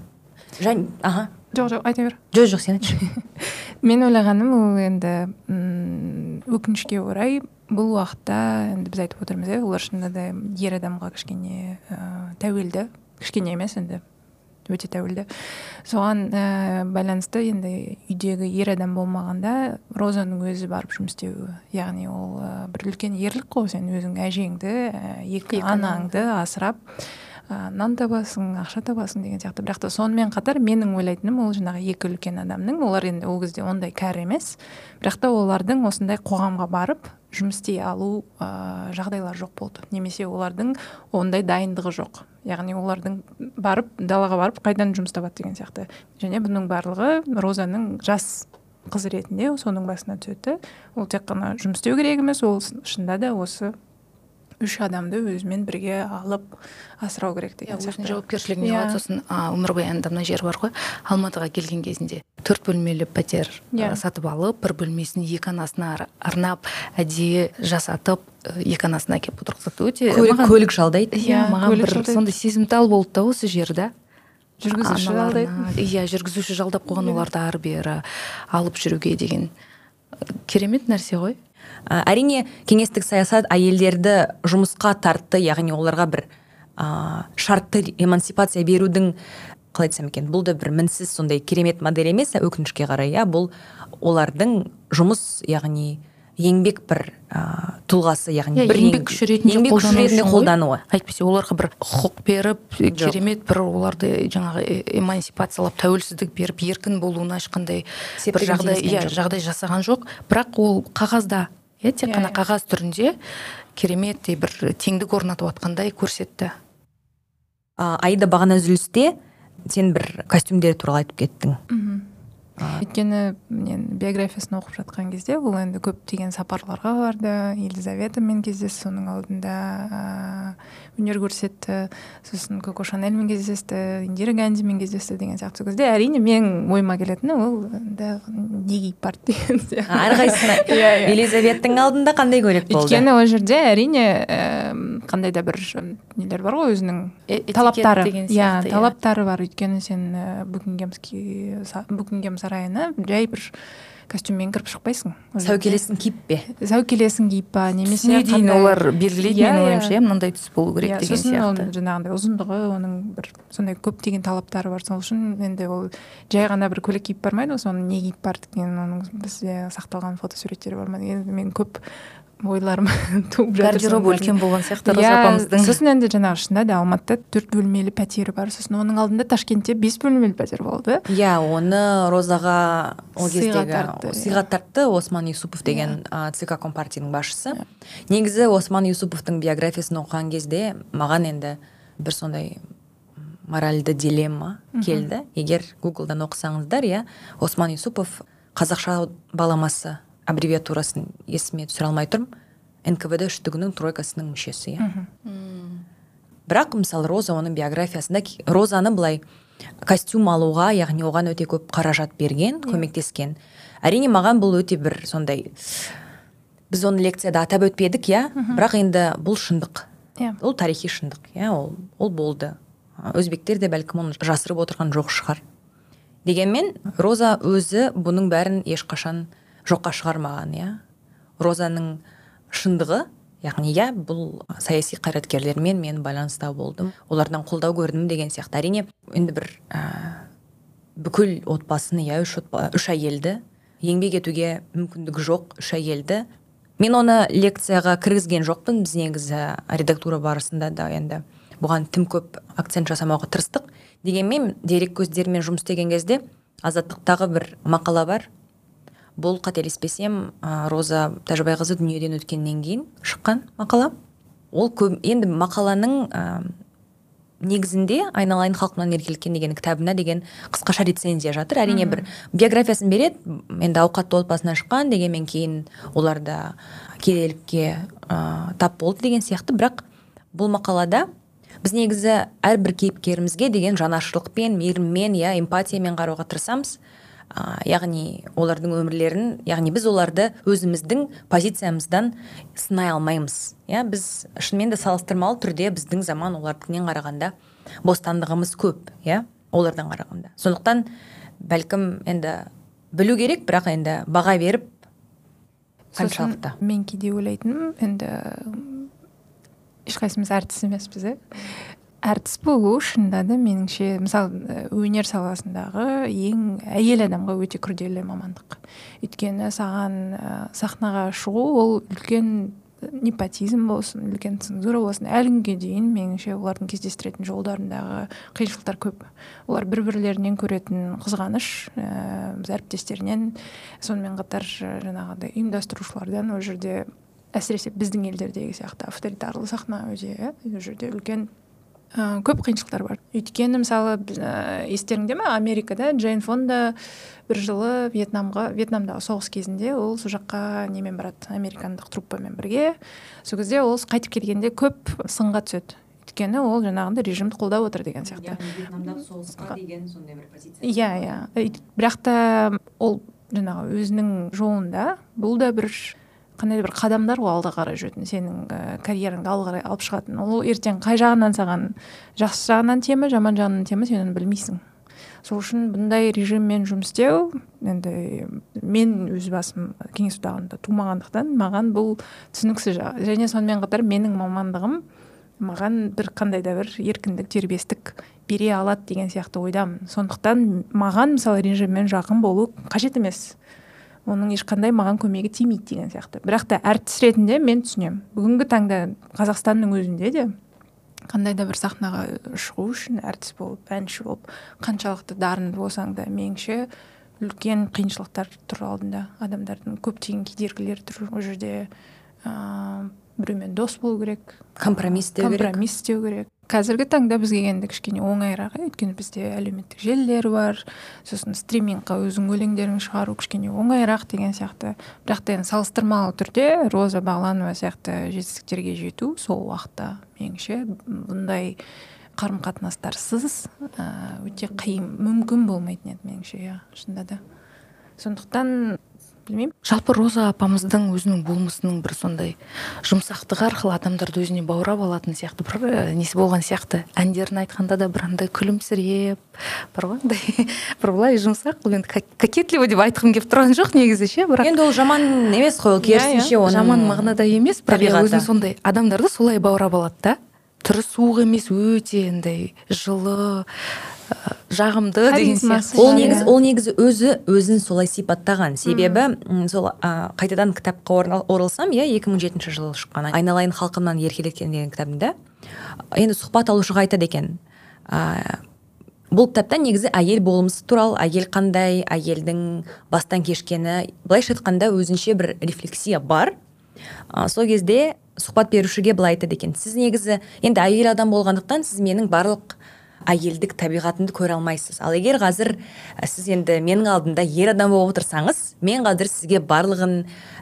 Жоқ, айта бер. Жоқ, сен айтшы. Мен ойлағаным, ол енді өкінішке орай бұл уақытта, енді біз айтып отырмыз, олар шынында да ер адамға кішкене тәуелді, кішкене емес, енді өте тәуелді. Соған байланысты енді үйдегі ер адам болмағанда Розаның өзі барып жұмыс істеуі. Яғни ол бір үлкен ерлік қой, сен өзің әжеңді, екі анаңды асырап нан табасың, ақша табасың деген сияқты. Бірақ та сонымен қатар менің ойлайтыным ол жаңағы екі үлкен адамның, олар енді ол кезде ондай кәрі емес, бірақ та олардың осындай қоғамға барып жұмыс істей алу жағдайлар жоқ болды. Немесе олардың ондай дайындығы жоқ. яғни олардың барып далаға барып қайдан жұмыс табады деген сияқты. Және бұның барлығы Розаның жас қыз ретінде соның басына түседі. Ол тек қана жұмыс істеу керек емес, ол шынында да осы 3 адамды өзімен бірге алып асырау керек деген сияқты. Өзінің жауапкершілігіне алады. Сосын өмірбаянында мына жер бар ғой, Алматыға келген кезінде 4 бөлмелі пәтер сатып алып, 1 бөлмесін 2 анасына арнап, әдейі жасатып, 2 анасына әкеп отырғызды. Өте көлік жалдайды. Маған бір сондай сезімтал болды да осы жерде. Жүргізуші жалдайды. Жүргізуші жалдап қойған, оларды ары бері алып жүруге деген керемет нәрсе ғой. Әрине, кеңестік саясат әйелдерді жұмысқа тартты, яғни оларға бір шартты эмансипация берудің, қалай айтсам екен, бұл да бір мінсіз сондай керемет модель емес, өкінішке қарай, бұл олардың жұмыс, яғни еңбек бір тұлғасы, яғни бір еңбек күші ретінде қолдануы. Әйтпесе оларға бір құқық беріп, керемет бір оларды жаңағы эмансипациялап, тәуелсіздік беріп, еркін болуына ешқандай бір жағдай жасаған жоқ. Бірақ ол қағазда, тек қана қағаз түрінде керемет бір теңдік орнатып атқандай көрсетті. Аида, бағана үзілісте сен бір костюмдер туралы айтып кеттің. Өйткені мен биографиясын оқып жатқан кезде ол енді көптеген сапарларға барды, Елизаветамен кездесті, соның алдында өнер көрсетті, сосын Коко Шанельмен кездесті, Индира Гандимен кездесті деген сияқты кезде әрине мен ойыма келетіні ол не киіп барды деген сияқты. Әрқайсысына Елизаветтің алдында қандай көйлек болды? Өйткені ол жерде әрине қандай да бір нелер бар ғой, өзінің талаптары бар. Өйткені сен Букингем сарайына жай бір костюммен кіріп шықпайсың. Сәукелесін киіп бе? Сәукелесін киіп ба, немесе түсіне дейін олар белгілейді, мен ойымша, мынандай түс болу керек деген сияқты. Сосын жаңағындай ұзындығы, оның бір сондай көптеген талаптары бар. Сол үшін енді ол жай ғана бір көйлек киіп бармайды, соны не киіп барды деген, оның бізде сақталған фотосуреттері бар ма деген мен көп ойларым туып жатыр. Гардероб үлкен болған сияқты Роза апамыздың. Сосын енді жаңағы шында да Алматыда 4 бөлмелі пәтері бар. Сосын оның алдында Ташкентте 5 бөлмелі пәтер болды. Оны Розаға ол кездегі сыйға тартты Осман Юсупов деген ЦК Компартияның басшысы. Негізі Осман Юсуповтың биографиясын оқыған кезде маған енді бір сондай моральды дилемма келді. Егер Гуглдан оқысаңыздар, Осман Юсупов қазақша баламасы аббревиатурасын есіме түсіре алмай тұрмын. НКВД үштігінің тройкасының мүшесі. Бірақ мысалы Роза оның биографиясында Розаны былай костюм алуға, яғни оған өте көп қаражат берген, көмектескен. Әрине маған бұл өте бір сондай, біз оны лекцияда атап өтпедік, бірақ енді бұл шындық. Ол тарихи шындық, ол болды. Өзбектер де бәлкім оны жасырып отырған жоқ шығар. Дегенмен Роза өзі бұның бәрін ешқашан жоққа шығармаған, Розаның шындығы, яғни бұл саяси қайраткерлермен мен байланыста болдым, олардан қолдау көрдім деген сияқты. Әрине енді бір бүкіл отбасын, 3 әйелді еңбек етуге мүмкіндігі жоқ 3 әйелді. Мен оны лекцияға кіргізген жоқпын, біз негізі редактура барысында да енді бұған тым көп акцент жасамауға тырыстық. Дегенмен дерек көздерімен жұмыс істеген кезде Азаттықтағы бір мақала бар. Бұл қателеспесем Роза Тәжібайқызы дүниеден өткеннен кейін шыққан мақала. Ол енді мақаланың негізінде Айналайын халқымнан еркеліккен деген кітабына деген қысқаша рецензия жатыр. Әрине бір биографиясын береді, енді ауқатты отбасынан шыққан дегенмен кейін оларда кедейлікке тап болды деген сияқты. Бірақ бұл мақалада біз негізі әрбір кейіпкерімізге деген жанашырлықпен, мейіріммен, эмпатиямен қарауға тырысамыз. Яғни олардың өмірлерін, яғни біз оларды өзіміздің позициямыздан сынай алмаймыз. Біз шынымен де салыстырмалы түрде біздің заман олардыңнен қарағанда бостандығымыз көп, олардан қарағанда. Сондықтан бәлкім енді білу керек, бірақ енді баға беріп қаншалықты. Мен кейде ойлайтыным, енді ешқайсымыз әртіс емеспіз, әртіс болу шынында да меніңше, мысалы өнер саласындағы ең әйел адамға өте күрделі мамандық. Өйткені саған сахнаға шығу ол үлкен непотизм болсын, үлкен цензура болсын, әлі күнге дейін меніңше олардың кездестіретін жолдарындағы қиыншылықтар көп. Олар бір-бірлерінен көретін қызғаныш, әріптестерінен, сонымен қатар жаңағыдай ұйымдастырушылардан ол жерде әсіресе біздің елдердегі сияқты авторитарлы сахна өте, ол жерде үлкен көп қиыншылықтар бар. Өйткені мысалы естеріңде ме, Америкада Джейн Фонда бір жылы Вьетнамдағы соғыс кезінде ол сол жаққа немен барады, американдық труппамен бірге. Сол кезде ол қайтып келгенде көп сынға түседі. Өйткені ол жаңағында режимді қолдап отыр деген сияқты. Вьетнамдағы соғысқа деген сондай бір позиция. Иә. Бірақ та ол жаңағы өзінің жолында бұл да бір қандай бір қадамдар ғой алға қарай жүретін, сенің карьераңды алға қарай алып шығатын. Ол ертең қай жағынан саған жақсы жағынан темі, жаман жағынан темі, сен оны білмейсің. Сол үшін бұндай режиммен жұмыс істеу, енді мен өз басым кеңес одағында тумағандықтан маған бұл түсініксіз жағы. Және сонымен қатар менің мамандығым маған бір қандай да бір еркіндік, дербестік бере алады деген сияқты ойдамын. Сондықтан маған мысалы режиммен жақын болу қажет емес. Оның ешқандай маған көмегі тимейді деген сияқты. Бірақ та әртіс ретінде мен түсінемін. Бүгінгі таңда Қазақстанның өзінде де қандай да бір сахнаға шығу үшін әртіс болып, әнші болып, қаншалықты дарынды болсаң да, меніңше үлкен қиыншылықтар тұр алдында. Адамдардың көптеген кедергілер тұр. Ол жерде біреумен дос болу керек, компромисс істеу керек. Қазіргі таңда бізге енді кішкене оңайырақ, өйткені бізде әлеуметтік желілер бар, сосын стримингқа өзің өлеңдерін шығару кішкене оңайырақ деген сияқты. Бірақ та енді салыстырмалы түрде Роза Бағланова сияқты жетістіктерге жету сол уақытта меніңше бұндай қарым-қатынастарсыз өте қиын, мүмкін болмайтын еді меніңше, иә, шынында да. Сондықтан білмеймін. Жалпы Роза апамыздың өзінің болмысының бір сондай жұмсақтығы арқылы адамдарды өзіне баурап алатын сияқты бір несі болған сияқты. Әндерін айтқанда да бір андай күлімсіреп, бір былай жұмсақ, енді кокетливо деп айтқым келіп тұрған жоқ негізі ше, бірақ енді ол жаман емес қой, ол керісінше оның жаман мағынада емес, бірақ өзінің сондай адамдарды солай баурап алады да. Түрі суық емес, өте андай жылы, жағымды деген сияқты. Ол негізі өзін солай сипаттаған. Себебі сол қайтадан кітапқа оралсам, 2007 жылы шыққан Айналайын халқымнан еркелеткен деген кітабында енді сұхбат алушыға айтады екен. Бұл кітапта негізі әйел болмысы туралы, әйел қандай, әйелдің бастан кешкені, былайша айтқанда өзінше бір рефлексия бар. Сол кезде сұхбат берушіге былай айтады екен: сіз негізі енді әйел адам болғандықтан сіз менің барлық әйелдік табиғатымды көре алмайсыз. Ал егер қазір сіз енді менің алдымда ер адам болып отырсаңыз, мен қазір сізге барлығын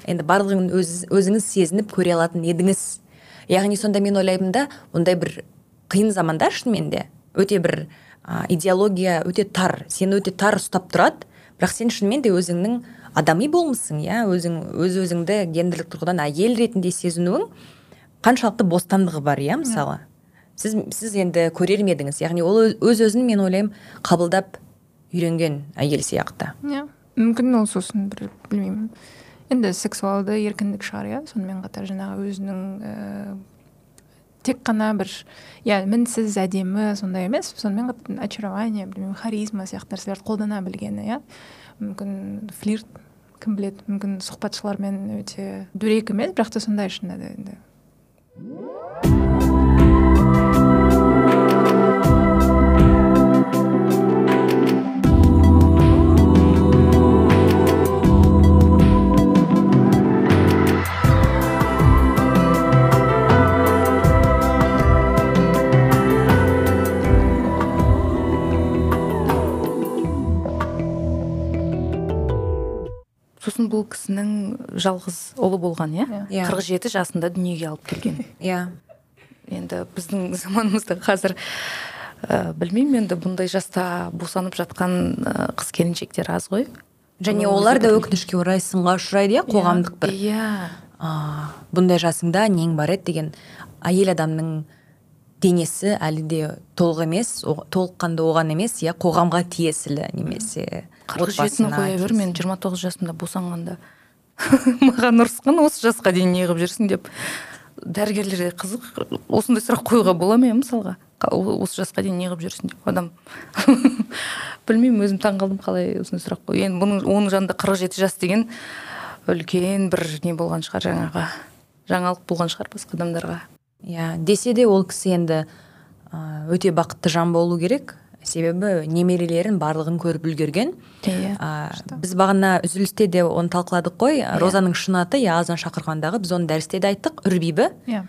өзіңіз сезініп көре алатын едіңіз. Яғни сонда мен ойлаймын да, ондай бір қиын заманда шынымен де өте бір идеология өте тар, сені өте тар ұстап тұрады, бірақ сен шынымен де өзіңнің адами болмысың, өзіңді гендерлік тұрғыдан әйел ретінде сезінуің қаншалықты бостандығы бар, мысалы. Сіз енді көрер ме едіңіз? Яғни ол өз-өзін, мен ойлаймын, қабылдап үйренген әйел сияқты. Мүмкін ол сосын бір, білмеймін, енді сексуалды еркіндік шығар, сонымен қатар жаңағы өзінің тек қана бір, мінсіз әдемі сондай емес, сонымен қатар очарование, білмеймін, харизма сияқты нәрселерді қолдана білгені, мүмкін флирт, кім біледі, мүмкін сұхбатшылармен өте дөрекі емес, бірақ та сондай шынында да енді. Сосын бұл кісінің жалғыз ұлы болған, 47 жасында дүниеге алып келген. Енді біздің заманымызда қазір білмеймін, енді бұндай жаста босанып жатқан қыз келіншектер аз ғой. Және олар да өкінішке орай сынға ұшырайды, қоғамдық бір. Бұндай жасыңда нең бар еді деген, әйел адамның денесі әлі де толық емес, толыққанды оған емес, қоғамға тиесілі немесе 47-ні қоя бер, мен 29 жасымда босанғанда маған ұрысқан, осы жасқа дейін не қылып жүрсің деп. Дәрігерлерге қызық, осындай сұрақ қоюға бола ма, мысалға, осы жасқа дейін не қылып жүрсің деп. Адам білмеймін, өзім таңғалдым қалай осындай сұрақ қою. Енді оның жанында 47 жас деген үлкен бір не болған шығар, жаңалық болған шығар басқа адамдарға. Десе де ол кісі енді өте бақытты жан болу керек, себебі немерелерін барлығын көріп үлгерген. Біз бағана үзілісте де оны талқыладық қой, Розаның шын аты Азан шақырғандағы, біз оны дәрісте де айттық, Үрбибі.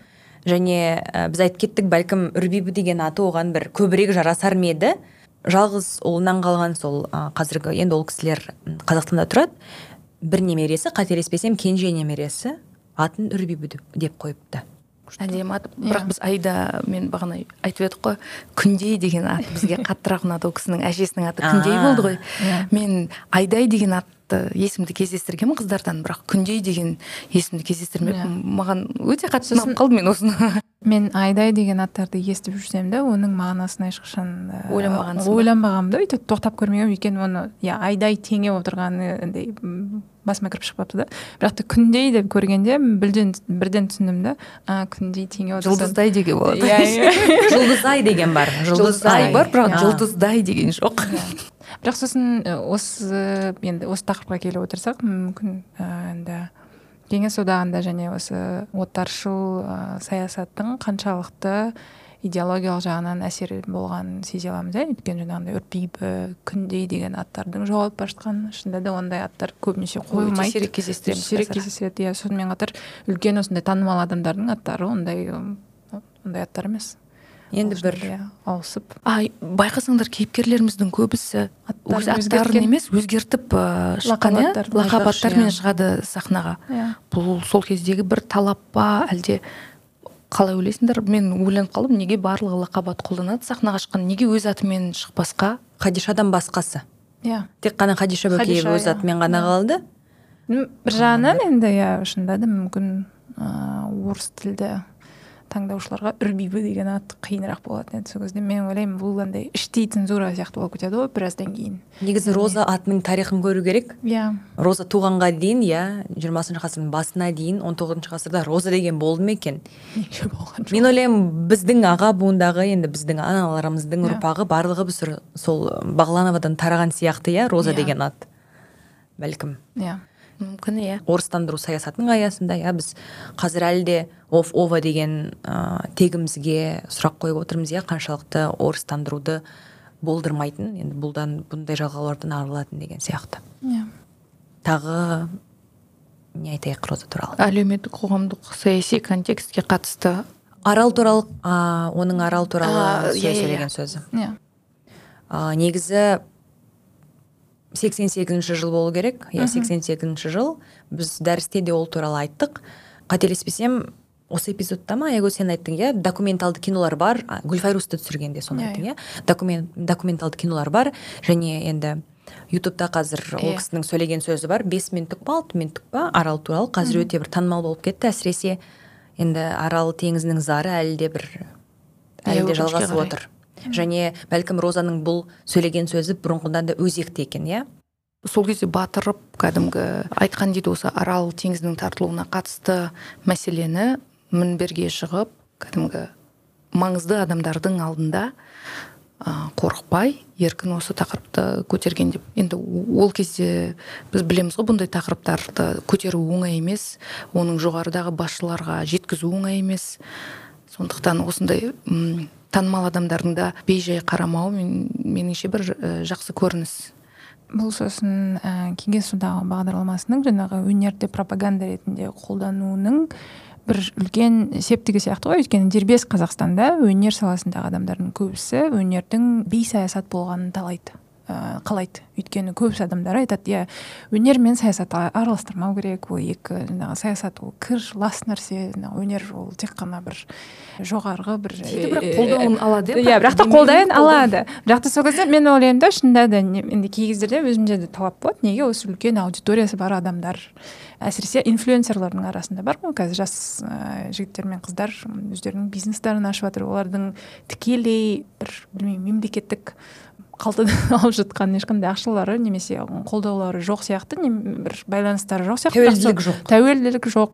және біз айтып кеттік, бәлкім Үрбибі деген аты оған бір көбірек жарасар ма еді. Жалғыз ұлынан қалған сол қазіргі, енді ол кісілер Қазақстанда тұрады, бір немересі, қателеспесем кенже немересі атын Үрбибі деп қойыпты. Әдемі ат. Бірақ біз Айда, мен бағана айтып едік қой, Күндей деген ат бізге қаттырақ ұнады. Ол кісінің әжесінің аты Күндей болды ғой. Мен Айдай деген атты есімді кездестіргенмін қыздардан, бірақ Күндей деген есімді кездестірмеппін. Маған өте қатты ұнап қалды мен осыны. Мен Айдай деген аттарды естіп жүрсем де, оның мағынасын ешқашан ойланбағанмын да, өйтіп тоқтап көрмегенмін, өйткені оны Айдай теңеп отырғаны басыма кіріп шықпапты да. Бірақ та Күндей деп көргенде бірден түсіндім да, Күндей теңеп отырса. Жұлдыздай деген болады. Жұлдызай деген бар. Жұлдызай бар, бірақ жұлдыздай деген жоқ. Бірақ сосын осы тақырыпқа келіп отырсақ, мүмкін енді Кеңес одағында және осы отаршыл саясаттың қаншалықты идеологиялық жағынан әсер болғанын сезе аламыз. Өйткені жаңағындай Үрбибі, Күндей деген аттардың жоғалып бара жатқаны, шынында да ондай аттар көбінесе қойылмайды. Сирек кездестіреді. Сонымен қатар үлкен осындай танымал адамдардың аттары ондай аттар емес. Енді бір ауысып. Байқасаңдар, кейіпкерлеріміздің көбісі өз аттарын емес, өзгертіп шыққан, лақап аттармен шығады сахнаға. Бұл сол кездегі бір талап па, әлде қалай ойлайсыңдар? Мен ойланып қалдым, неге барлығы лақап ат қолданады сахнаға шыққан, неге өз атымен шықпасқа? Хадишадан басқасы. Тек қана Хадиша Бөкеева өз атымен ғана қалды. Бір жағынан енді шынында да мүмкін орыс тілді таңдаушыларға Үрбибі деген ат қиынырақ болатын еді. Сол кезде мен ойлаймын, бұл андай іштей цензура сияқты болып кетеді ғой біраздан кейін. Негізі Роза атының тарихын көру керек. Роза туғанға дейін, 20 ғасырдың басына дейін, 19 ғасырда Роза деген болды ма екен? Мен ойлаймын, біздің аға буындағы, енді біздің аналарымыздың ұрпағы барлығы біз сол Бағлановадан тараған сияқты, Роза деген ат. Бәлкім. Мүмкін, орыстандыру саясатының аясында, біз қазір әлде ова деген тегімізге сұрақ қойып отырмыз, қаншалықты орыстандыруды болдырмайтын, енді бұндай жалғаулардан арылатын деген сияқты. Тағы не айтайық Роза туралы? Әлеуметтік қоғамдық саяси контекстке қатысты. Арал туралы, оның Арал туралы сөйлеген сөзі. Негізі 88 жыл болу керек. 88 жыл. Біз дәрісте де ол туралы айттық. Қателеспесем, осы эпизодта ма, сен айттың, документалды кинолар бар. Гүлфайрусты түсіргенде соны айттың, документалды кинолар бар. Және енді ютубта қазір ол кісінің сөйлеген сөзі бар. 5 минуттық па, 6 минуттық па, Арал туралы қазір өте бір танымал болып кетті. Әсіресе енді Арал теңізінің зары әлі де жалғасып отыр. Және бәлкім Розаның бұл сөйлеген сөзі бұрынғыдан да өзекті екен, Сол кезде батырып, кәдімгі айтқан дейді, осы Арал теңізінің тартылуына қатысты мәселені мінберге шығып, кәдімгі маңызды адамдардың алдында қорықпай, еркін осы тақырыпты көтерген деп. Енді ол кезде біз білеміз ғой, бұндай тақырыптарды көтеру оңай емес, оның жоғарыдағы басшыларға жеткізу оңай емес. Сондықтан осындай танымал адамдардың да бейжай қарамауы меніңше бір жақсы көрініс. Бұл сосын Кеңес одағы бағдарламасының жаңағы өнерді пропаганда ретінде қолдануының бір үлкен септігі сияқты ғой. Өйткені дербес Қазақстанда өнер саласындағы адамдардың көбісі өнердің бейсаясат болғанын қалайды. Өйткені көбісі адамдар айтады, өнер мен саясат араластырмау керек, ол екі саясат ол кір лас нәрсе, өнер ол тек қана бір жоғарғы бір қолдауын алады. Бірақ та қолдауын алады. Бірақ та сол кезде мен ойлаймын да, шынында да енді кей кездерде өзімде де талап болады. Неге осы үлкен аудиториясы бар адамдар, әсіресе инфлюенсерлердің арасында бар ғой, қазір жас жігіттер мен қыздар өздерінің бизнестарын ашып жатыр, олардың тікелей бір мемлекеттік қалтадан алып жатқан ешқандай ақшалары немесе қолдаулары жоқ сияқты, бір байланыстары жоқ сияқты. Тәуелділік жоқ.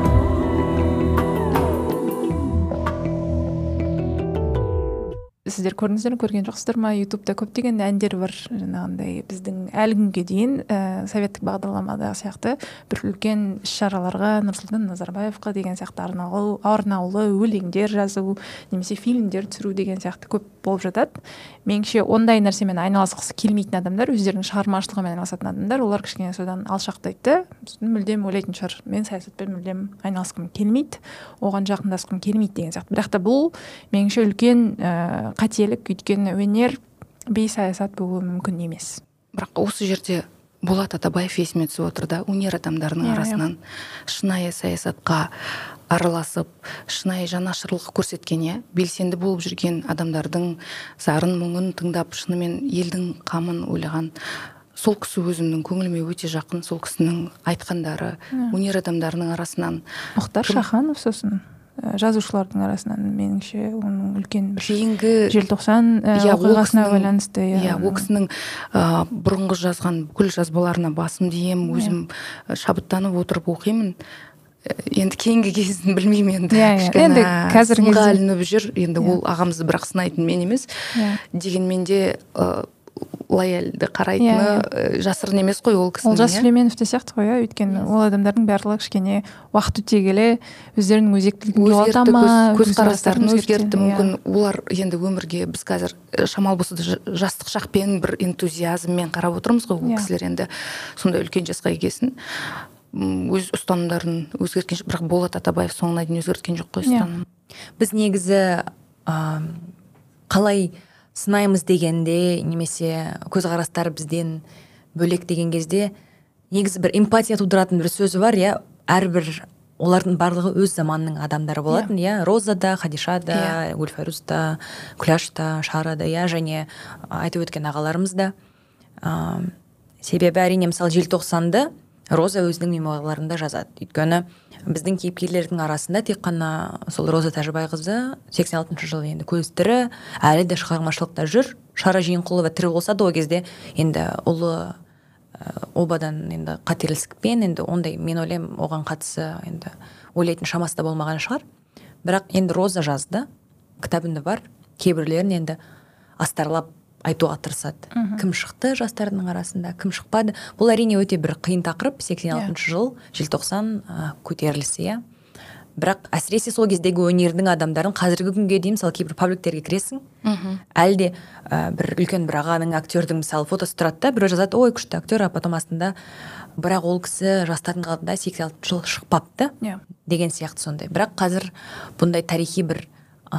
Сіздер көрдіңіздер көрген жоқсыздар ма, ютубта көптеген әндер бар жаңағындай біздің әлі күнге дейін советтік бағдарламадағы сияқты бір үлкен іс-шараларға Нұрсұлтан Назарбаевқа деген сияқты арнаулы өлеңдер жазу немесе фильмдер түсіру деген сияқты көп болып жатады. Меніңше ондай нәрсемен айналысқысы келмейтін адамдар, өздерінің шығармашылығымен айналысатын адамдар, олар кішкене содан алшақтайды. Мүлдем ойлайтын шығар, мен саясатпен мүлдем айналысқым келмейді, оған жақындасқым келмейді деген сияқты. Бірақ та бұл меніңше үлкен қателік, өйткені өнер бейсаясат болуы мүмкін емес. Бірақ осы жерде Болат Атабаев есіме түсіп отыр да, өнер адамдарының арасынан шынайы саясатқа араласып, шынайы жанашырлық көрсеткен, белсенді болып жүрген адамдардың зарын мұңын тыңдап, шынымен елдің қамын ойлаған сол кісі өзімнің көңіліме өте жақын. Сол кісінің айтқандары өнер адамдарының арасынан Мұхтар Шаханов, сосын жазушылардың арасынан меніңше оның үлкен бір кейінгі желтоқсан оқиғасына байланысты. Ол кісінің бұрынғы жазған бүкіл жазбаларына басым дейім, өзім шабыттанып отырып оқимын. Енді кейінгі кезін білмеймін, енді қазіргі сынға ілініп жүр, енді ол ағамызды бірақ сынайтын мен емес, дегенмен де лояльді қарайтыны жасырын емес қой ол кісінің. Олжас Сүлейменов те сияқты қой, өйткені ол адамдардың барлығы кішкене уақыт өте келе өздерінің өзектілігін жоғалта ма, көзқарастарын өзгертті мүмкін. Олар енді өмірге біз қазір шамалы болса да жастық шақпен бір энтузиазммен қарап отырмыз ғой, ол кісілер енді сондай үлкен жасқа келген өз ұстанымдарын өзгерткен жоқ, бірақ Болат Атабаев соңына дейін өзгерткен жоқ қой ұстаным. Біз негізі қалай сынаймыз дегенде немесе көзқарастар бізден бөлек деген кезде негізі бір эмпатия тудыратын бір сөзі бар, әрбір олардың барлығы өз заманның адамдары болатын, Роза да, Хадиша да, Гүлфайруз да, Күләш та, Шара да, және айтып өткен ағаларымыз да. Себебі әрине мысалы желтоқсанды Роза өзінің мемуарларында жазады. Өйткені біздің кейіпкерлердің арасында тек қана сол Роза Тәжібайқызы 86 жылы енді көз тірі, әлі де шығармашылықта жүр. Шара Жиенқұлова тірі болса да ол кезде енді ұлы обадан енді қателікпен енді ондай мен ойлаймын оған қатысы енді ойлайтын шамасы да болмаған шығар. Бірақ енді Роза жазды, кітабында бар, кейбірлерін енді астарлап айтуға тырысады. Кім шықты жастардың арасында, кім шықпады. Бұл әрине өте бір қиын тақырып, 86 жыл, желтоқсан көтерілісі, Бірақ әсіресе сол кездегі өнердің адамдарын қазіргі күнге дейін мысалы кейбір пабликтерге кіресің, әлде бір үлкен бір ағаның актердің мысалы фотосы тұрады да, біреу жазады, ой күшті актер, а потом астында бірақ ол кісі жастардың алдында 86 жыл шықпапты деген сияқты сондай. Бірақ қазір бұндай тарихи бір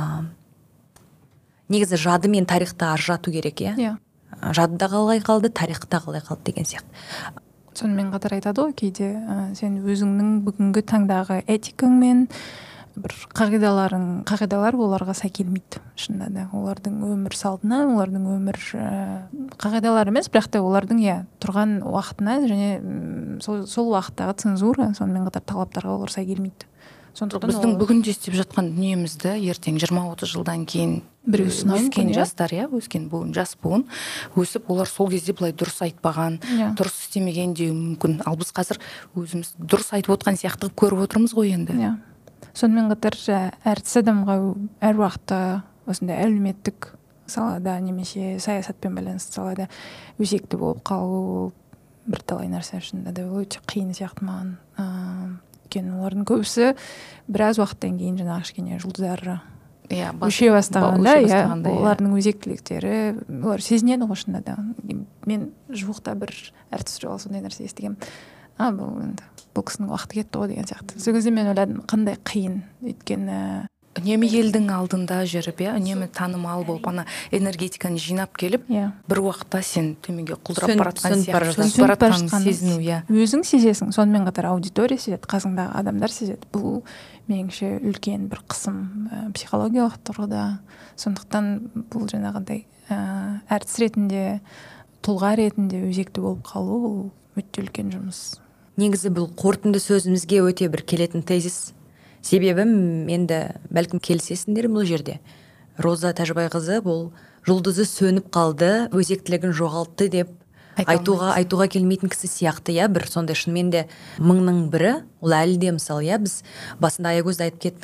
негізі жады мен тарихты ажырату керек, жадыда қалай қалды, тарихта қалай қалды деген сияқты. Сонымен қатар айтады ғой кейде сен өзіңнің бүгінгі таңдағы этикаңмен бір қағидалар оларға сай келмейді шынында да. Олардың өмір салтына, олардың өмір қағидалары емес, бірақ та олардың тұрған уақытына және сол уақыттағы цензура, сонымен қатар талаптарға олар сай келмейді. Біздің бүгінде істеп жатқан дүниемізді ертең 20-30 жылдан кейін өскен жастар, өскен буын, жас буын өсіп, олар сол кезде былай дұрыс айтпаған, дұрыс істемеген деуі мүмкін. Ал біз қазір өзіміз дұрыс айтып отқан сияқты көріп отырмыз ғой енді. Сонымен қатар әртіс адамға әр уақытта осындай әлеуметтік салада немесе саясатпен байланысты салада өзекті болып қалу бірталай нәрсе шынында да өте қиын сияқты маған. Олардың көбісі біраз уақыттан кейін жаңағы кішкене жұлдыздары өше бастағанда, олардың өзектіліктері, олар сезінеді ғой шынында да. Мен жуықта бір әртіс жолы сондай нәрсе естігем. Бұл кісінің уақыты кетті ғой деген сияқты. Сол кезде мен ойладым, қандай қиын, өйткені үнемі елдің алдында жүріп, үнемі танымал болып, ана энергетиканы жинап келіп, бір уақытта сен төменге құлдырап баратқан сияқты, сөніп баратқан сезіну, өзің сезесің, сонымен қатар аудитория сезеді, қасыңдағы адамдар сезеді. Бұл меніңше үлкен бір қысым психологиялық тұрғыда. Сондықтан бұл жаңағыдай әртіс ретінде, тұлға ретінде өзекті болып қалу өте үлкен жұмыс. Негізі бұл қорытынды сөзімізге өте бір келетін тезис. Себебі енді бәлкім келісесіңдер бұл жерде. Роза Тәжібайқызы бұл жұлдызы сөніп қалды, өзектілігін жоғалтты деп айтуға келмейтін кісі сияқты, бір сондай шынымен де мыңның бірі, ол әлі де мысалы, біз басында Аягөзді айтып кеттің,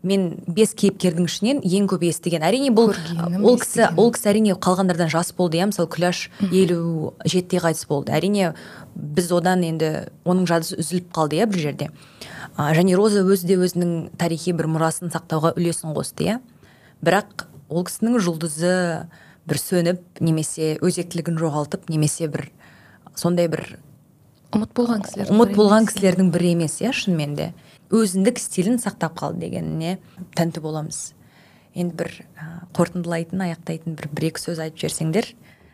мен 5 кейіпкердің ішінен ең көп естіген. Әрине бұл ол кісі әрине қалғандардан жас болды, иә, мысалы Күләш 57-те қайтыс болды. Әрине біз одан енді оның жадысы үзіліп қалды, иә, бір жерде. Және Роза өзі де өзінің тарихи бір мұрасын сақтауға үлесін қосты, иә. Бірақ ол кісінің жұлдызы бір сөніп, немесе өзектілігін жоғалтып, немесе бір сондай бір ұмыт болған кісілердің бірі емес, иә, шынымен де. Өзіндік стилін сақтап қалды дегеніне тәнті боламыз. Енді бір қорытындылайтын, аяқтайтын бір-екі сөз айтып жерсеңдер,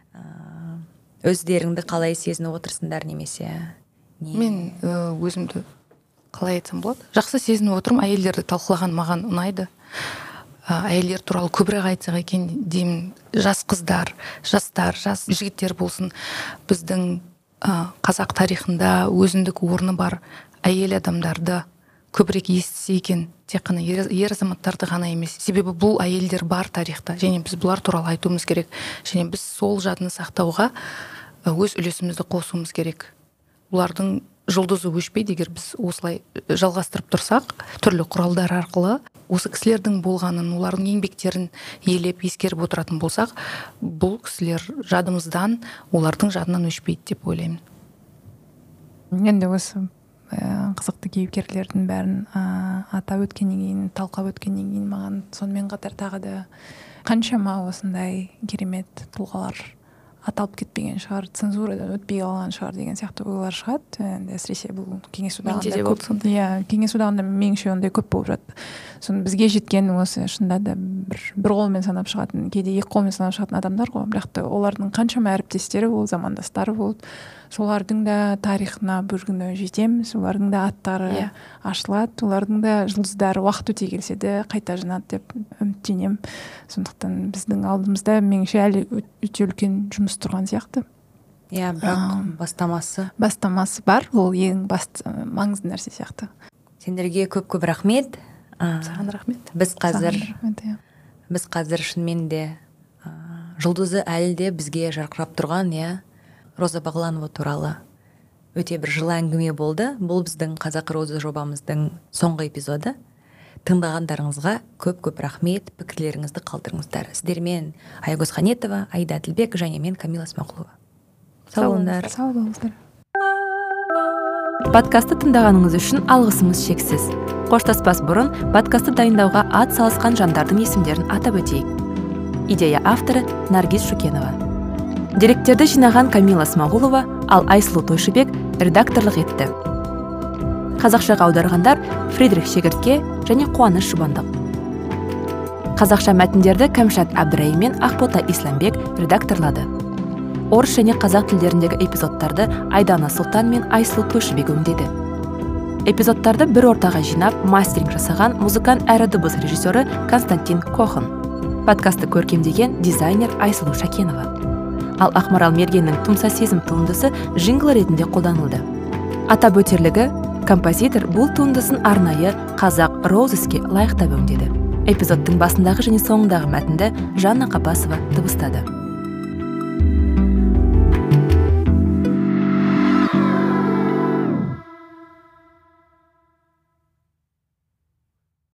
өздеріңді қалай сезініп отырсыңдар, немесе мен өзімді қалай айтсам болады? Жақсы сезініп отырмын, әйелдерді талқылаған маған ұнайды. Әйелдер туралы көбірек айтсақ екен деймін. Жас қыздар, жастар, жас жігіттер болсын, біздің қазақ тарихында өзіндік орны бар әйел адамдарды көбірек естісе екен, тек қана ер азаматтарды ғана емес. Себебі бұл әйелдер бар тарихта, және біз бұлар туралы айтуымыз керек. Және біз сол жадыны сақтауға өз үлесімізді қосуымыз керек. Бұлардың жұлдызы өшпейді, егер біз осылай жалғастырып тұрсақ, түрлі құралдар арқылы осы кісілердің болғанын, олардың еңбектерін елеп, ескеріп отыратын болсақ, бұл кісілер жадымыздан, олардың жадынан өшпейді деп ойлаймын. Енді осы қызықты кейіпкерлердің бәрін атап өткеннен кейін, талқылап өткеннен кейін, маған сонымен қатар тағы да қаншама осындай керемет тұлғалар аталып кетпеген шығар, цензурадан өтпей қалған шығар деген сияқты ойлар шығады. Енді әсіресе бұл кеңес одағында көп. Иә, кеңес одағында меніңше ондай көп болып жатты. Соны бізге жеткен осы шынында да бір қолмен санап шығатын, кейде екі қолмен санап шығатын адамдар ғой. Бірақ та олардың қаншама әріптестері болды, замандастары болды. Солардың да тарихына бір күні жетеміз, олардың да аттары ашылады, олардың да жұлдыздары уақыт өте келсе де қайта жинады деп үміттенемін. Сондықтан біздің алдымызда меніңше әлі өте үлкен жұмыс тұрған сияқты. Иә, бірақ бастамасы бар, ол ең басты маңызды нәрсе сияқты. Сендерге көп рахмет. Саған рахмет. Біз қазір шынымен де жұлдызы әлі де бізге жарқырап тұрған, иә, Роза Бағланова туралы өте бір жылы әңгіме болды. Бұл біздің Қазақ Роза жобамыздың соңғы эпизоды. Тыңдағандарыңызға көп рахмет, пікірлеріңізді қалдырыңыздар. Сіздермен Айгөз Ханетова, Айда Әділбек және мен Камила Смақұлова. Сау болыңыздар. Подкасты тыңдағаныңыз үшін алғысымыз шексіз. Қоштаспас бұрын подкасты дайындауға ат салысқан жандардың есімдерін атап өтейік. Идея авторы Наргиз Шукенова. Деректерді жинаған Камила Смағұлова, ал Айсұлу Тойшыбек редакторлық етті. Қазақшаға аударғандар Фридрих Шегіртке және Қуаныш Жұбандық. Қазақша мәтіндерді Кәмшат Әбдірайым мен Ақбота Исламбек редакторлады. Орыс және қазақ тілдеріндегі эпизодтарды Айдана Сұлтан мен Айсұлу Тойшыбек өңдеді. Эпизодтарды бір ортаға жинап, мастеринг жасаған музыкант әрі дыбыс режиссері Константин Кохан. Подкасты көркемдеген дизайнер Айсұлу Шакенова. Ал Ақмарал Мергеннің Тұмса сезім туындысы жингл ретінде қолданылды. Атап өтерлігі, композитор бұл туындысын арнайы қазақ Роузеске лайықтап өңдеді. Эпизодтың басындағы және соңындағы мәтінді Жанна Қапасова дыбыстады.